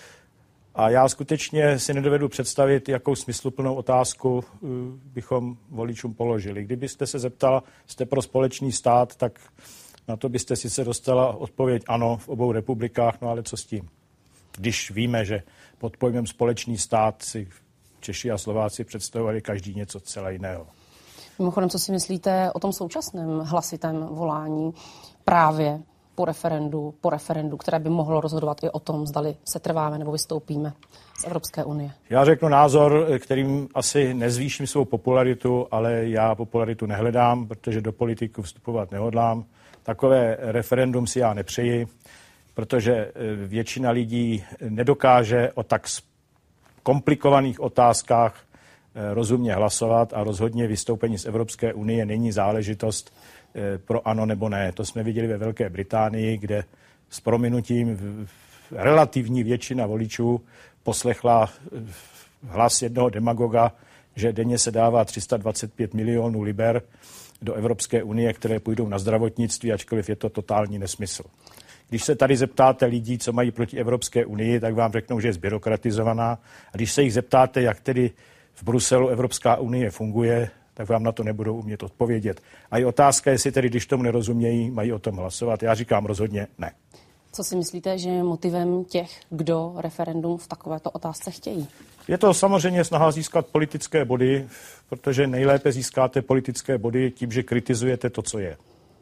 A já skutečně si nedovedu představit, jakou smysluplnou otázku bychom voličům položili. Kdybyste se zeptala, jste pro společný stát, tak na to byste sice dostala odpověď ano v obou republikách, no ale co s tím? Když víme, že pod pojmem společný stát si Češi a Slováci představovali každý něco celé jiného. Mimochodem, co si myslíte o tom současném hlasitém volání právě po referendu, které by mohlo rozhodovat i o tom, zdali se trváme nebo vystoupíme z Evropské unie? Já řeknu názor, kterým asi nezvýším svou popularitu, ale já popularitu nehledám, protože do politiku vstupovat nehodlám. Takové referendum si já nepřeji, protože většina lidí nedokáže o tak komplikovaných otázkách rozumně hlasovat a rozhodně vystoupení z Evropské unie není záležitost pro ano nebo ne. To jsme viděli ve Velké Británii, kde s prominutím relativní většina voličů poslechla hlas jednoho demagoga, že denně se dává 325 milionů liber do Evropské unie, které půjdou na zdravotnictví, ačkoliv je to totální nesmysl. Když se tady zeptáte lidí, co mají proti Evropské unii, tak vám řeknou, že je zbyrokratizovaná. A když se jich zeptáte, jak tedy v Bruselu Evropská unie funguje, tak vám na to nebudou umět odpovědět. A je otázka, jestli tedy, když tomu nerozumějí, mají o tom hlasovat. Já říkám rozhodně ne. Co si myslíte, že je motivem těch, kdo referendum v takovéto otázce chtějí? Je to samozřejmě snaha získat politické body, protože nejlépe získáte politické body tím, že kritizujete to, co je.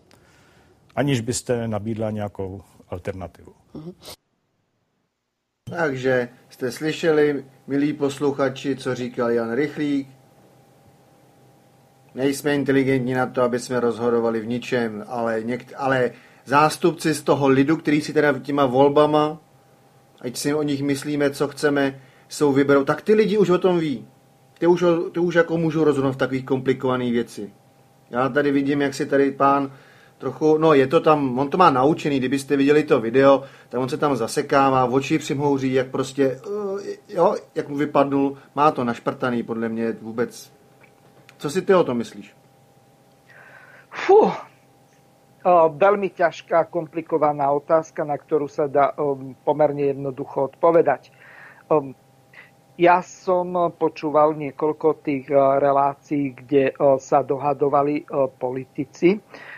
Aniž byste nabídla nějakou alternativu. Takže jste slyšeli, milí posluchači, co říkal Jan Rychlík. Nejsme inteligentní na to, aby jsme rozhodovali v ničem, ale zástupci z toho lidu, který si teda těma volbama, ať si o nich myslíme, co chceme, jsou vyberou, tak ty lidi už o tom ví. Ty už jako můžou rozhodnout v takových komplikovaných věci. Já tady vidím, jak si tady pán trochu, no je to tam, on to má naučený, kdybyste viděli to video, tak on se tam zasekává, oči přimhouří, jak prostě, jo, jak mu vypadnul, má to našprtaný, podle mě vůbec. Co si ty o tom myslíš? Veľmi ťažká, komplikovaná otázka, na ktorú sa dá pomerne jednoducho odpovedať. Ja som počúval niekoľko tých relácií, kde sa dohadovali politici.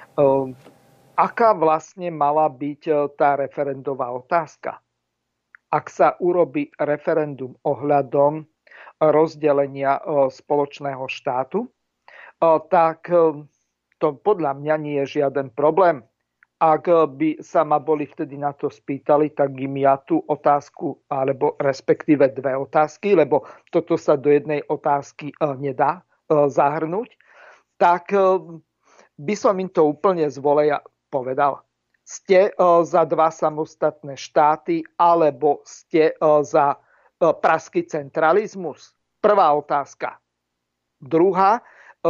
Aká vlastne mala byť tá referendová otázka? Ak sa urobí referendum ohľadom rozdelenia spoločného štátu, tak to podľa mňa nie je žiaden problém. Ak by sa ma boli vtedy na to spýtali, tak im ja tú otázku, alebo respektíve dve otázky, lebo toto sa do jednej otázky nedá zahrnúť, tak by som im to úplne z voleja povedal. Ste za dva samostatné štáty, alebo ste za praský centralizmus? Prvá otázka. Druhá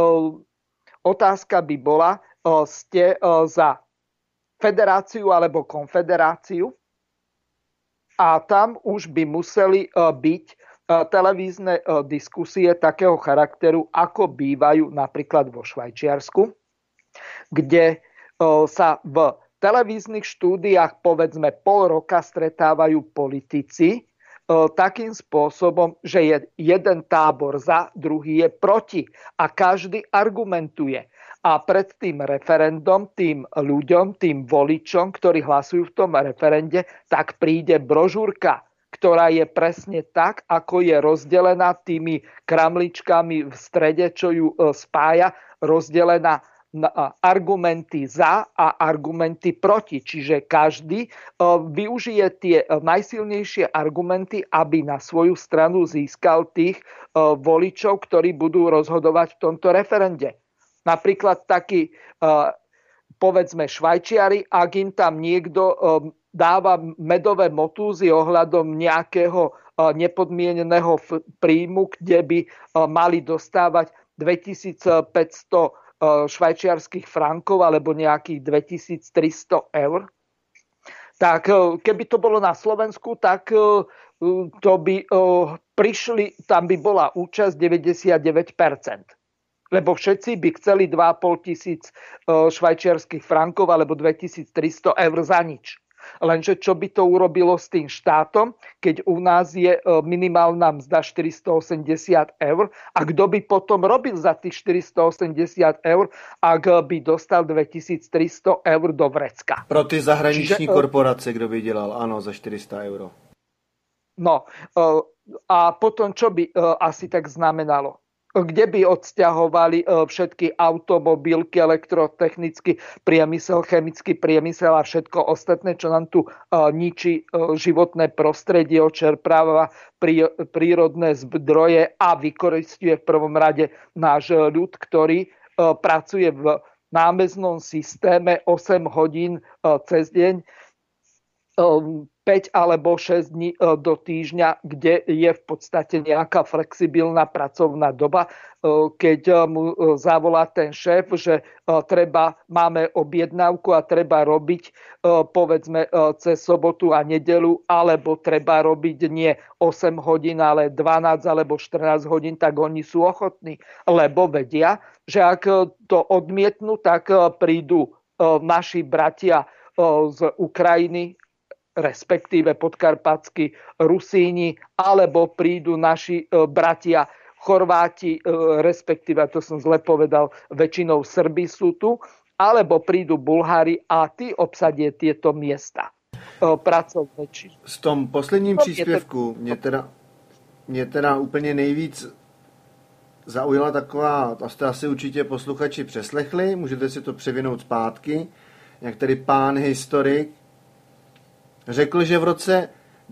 otázka by bola, ste za federáciu alebo konfederáciu? A tam už by museli byť televízne diskusie takého charakteru, ako bývajú napríklad vo Švajčiarsku, kde sa v televíznych štúdiách povedzme pol roka stretávajú politici takým spôsobom, že je jeden tábor za, druhý je proti a každý argumentuje. A pred tým referendum, tým ľuďom, tým voličom, ktorí hlasujú v tom referende, tak príde brožúrka, ktorá je presne tak, ako je rozdelená tými kramličkami v strede, čo ju spája, rozdelená na argumenty za a argumenty proti. Čiže každý využije tie najsilnejšie argumenty, aby na svoju stranu získal tých voličov, ktorí budú rozhodovať v tomto referende. Napríklad taký povedzme Švajčiari, ak im tam niekto dáva medové motúzy ohľadom nejakého nepodmieneného príjmu, kde by mali dostávať 2500 švajčiarskych frankov alebo nejakých 2300 eur. Tak keby to bolo na Slovensku, tak to by prišli, tam by bola účasť 99%. Lebo všetci by chceli 2500 švajčiarskych frankov alebo 2300 eur za nič. Lenže čo by to urobilo s tým štátom, keď u nás je minimálna mzda 480 eur a kto by potom robil za tých 480 eur, ak by dostal 2300 eur do vrecka. Pro ty zahraniční korporace, kdo by dělal, ano, za 400 euro. No a potom čo by asi tak znamenalo? Kde by odsťahovali všetky automobilky, elektrotechnický priemysel, chemický priemysel a všetko ostatné, čo nám tu ničí životné prostredie, očerpáva prírodné zdroje a vykoristuje v prvom rade náš ľud, ktorý pracuje v námeznom systéme 8 hodín cez deň, 5 alebo 6 dní do týždňa, kde je v podstate nejaká flexibilná pracovná doba, keď mu zavolá ten šéf, že máme objednávku a treba robiť povedzme cez sobotu a nedeľu, alebo treba robiť nie 8 hodín, ale 12 alebo 14 hodín, tak oni sú ochotní, lebo vedia, že ak to odmietnú, tak prídu naši bratia z Ukrajiny, respektíve podkarpatskí Rusíni, alebo prídu naši bratia Chorváti, respektíve, to som zle povedal, väčšinou Srbi sú tu, alebo prídu Bulhári a tí obsadia tieto miesta pracovné. V tom posledním příspěvku mě teda úplně nejvíc zaujala taková, to jste asi určitě posluchači přeslechli, můžete si to převinout zpátky, jak tady pán historik řekl, že v roce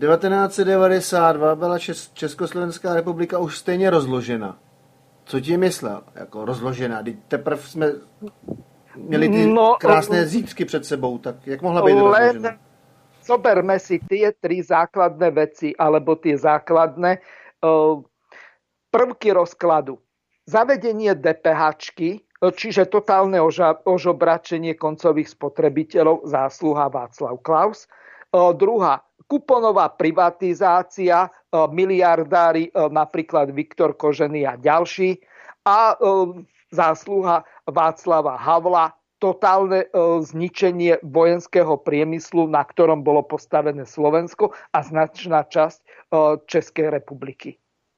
1992 byla Československá republika už stejně rozložena. Co ti myslel? Jako rozložena? Teprve jsme měli ty krásné zítřky před sebou, tak jak mohla být rozložena? Zoberme si tie tri základné veci, alebo tie základné prvky rozkladu. Zavedenie DPH-čky, čiže totálne ožobračenie koncových spotrebiteľov, zásluha Václav Klaus. Druhá, kuponová privatizácia, miliardári, napríklad Viktor Kožený a ďalší. A zásluha Václava Havla, totálne zničenie vojenského priemyslu, na ktorom bolo postavené Slovensko a značná časť Českej republiky.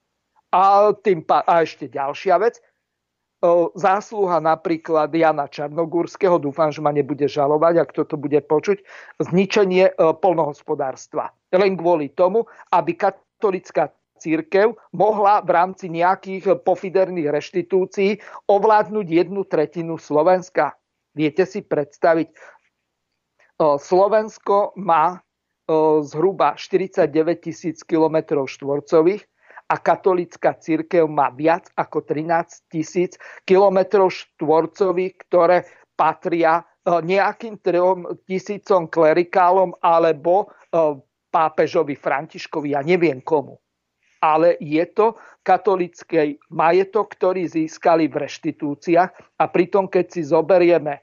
A ešte ďalšia vec, zásluha napríklad Jana Čarnogórskeho, dúfam, že ma nebude žalovať, ak toto bude počuť, zničenie poľnohospodárstva. Len kvôli tomu, aby katolická cirkev mohla v rámci nejakých pofiderných reštitúcií ovládnuť 1/3 Slovenska. Viete si predstaviť, Slovensko má zhruba 49 000 km štvorcových, a katolická cirkev má viac ako 13 000 kilometrov štvorcových, ktoré patria nejakým 3 000 klerikálom alebo pápežovi Františkovi, ja neviem komu. Ale je to katolický majetok, ktorý získali v reštitúciách a pritom, keď si zoberieme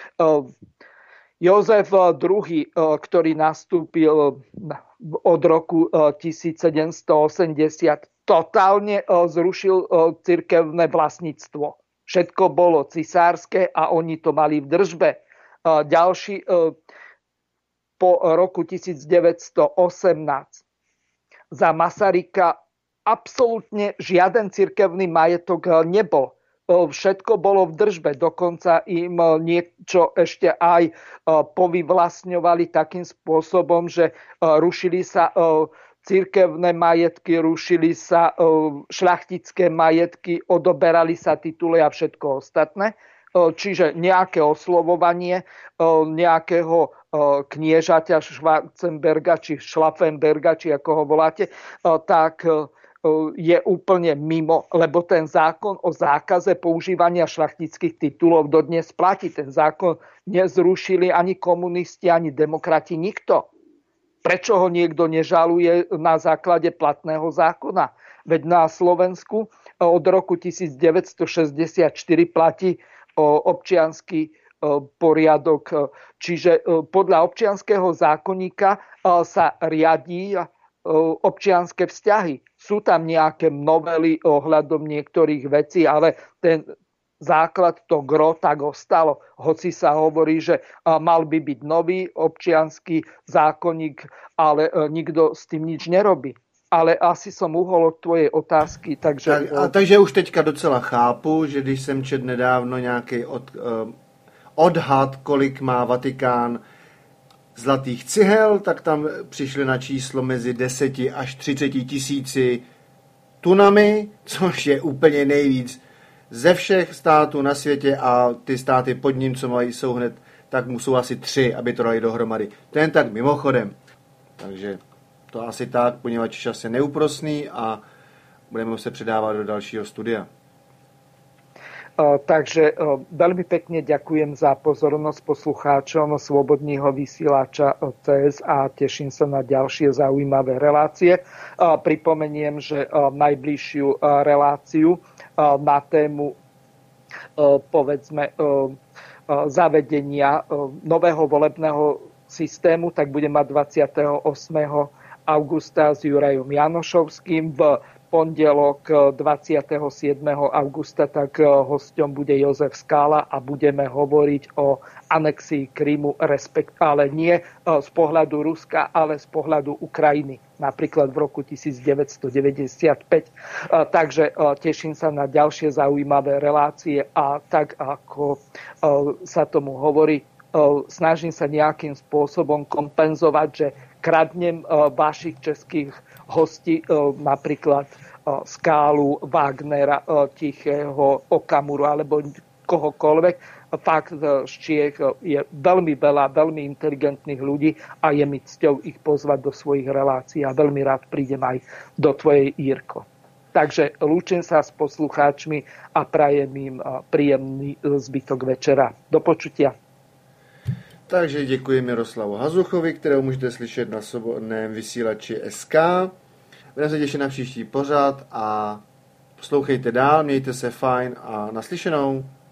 Jozef II, ktorý nastúpil od roku 1780, totálne zrušil cirkevné vlastníctvo. Všetko bolo cisárske a oni to mali v držbe. Ďalší po roku 1918 za Masaryka absolútne žiaden cirkevný majetok nebol. Všetko bolo v držbe, dokonca im niečo ešte aj povyvlastňovali takým spôsobom, že rušili sa cirkevné majetky, rušili sa šľachtické majetky, odoberali sa tituly a všetko ostatné. Čiže nejaké oslovovanie nejakého kniežaťa Schwarzenberga či Schlaffenberga, či ako ho voláte, tak je úplne mimo, lebo ten zákon o zákaze používania šľachtických titulov dodnes platí. Ten zákon nezrušili ani komunisti, ani demokrati, nikto. Prečo ho niekto nežaluje na základe platného zákona? Veď na Slovensku od roku 1964 platí občiansky poriadok. Čiže podľa občianskeho zákonníka sa riadí občianske vzťahy. Sú tam nejaké novely ohľadom niektorých vecí, ale ten základ, to gro, tak ostalo. Hoci sa hovorí, že mal by byť nový občiansky zákonník, ale nikto s tým nič nerobí. Ale asi som uhol od tvojej otázky. Takže už teďka docela chápu, že když jsem četl nedávno nějaký odhad, kolik má Vatikán zlatých cihel, tak tam přišli na číslo mezi 10 až 30 tisíci tunami, což je úplně nejvíc ze všech států na světě, a ty státy pod ním, co mají, jsou hned, tak musou asi 3, aby to dali dohromady. To jen tak mimochodem. Takže to asi tak, poněvadž čas je neúprosný a budeme se předávat do dalšího studia. Takže veľmi pekne ďakujem za pozornosť poslucháčom Slobodného vysielača CS a teším sa na ďalšie zaujímavé relácie. Pripomeniem, že najbližšiu reláciu na tému povedzme zavedenia nového volebného systému tak bude mať 28. augusta s Jurajom Janošovským. V pondelok 27. augusta tak hosťom bude Jozef Skála a budeme hovoriť o anexii Krymu, ale nie z pohľadu Ruska, ale z pohľadu Ukrajiny, napríklad v roku 1995. Takže teším sa na ďalšie zaujímavé relácie a tak, ako sa tomu hovorí, snažím sa nejakým spôsobom kompenzovať, že kradnem vašich českých hostí, napríklad Skálu, Wagnera, Tichého, Okamuru alebo kohokoľvek. Fakt z Čiech je veľmi veľa, veľmi inteligentných ľudí a je mi cťou ich pozvať do svojich relácií a veľmi rád prídem aj do tvojej, Jirko. Takže lúčim sa s poslucháčmi a prajem im príjemný zbytok večera. Do počutia. Takže děkuji Miroslavu Hazuchovi, kterého můžete slyšet na svobodném vysílači SK. Budeme se těšit na příští pořad a poslouchejte dál, mějte se fajn a naslyšenou.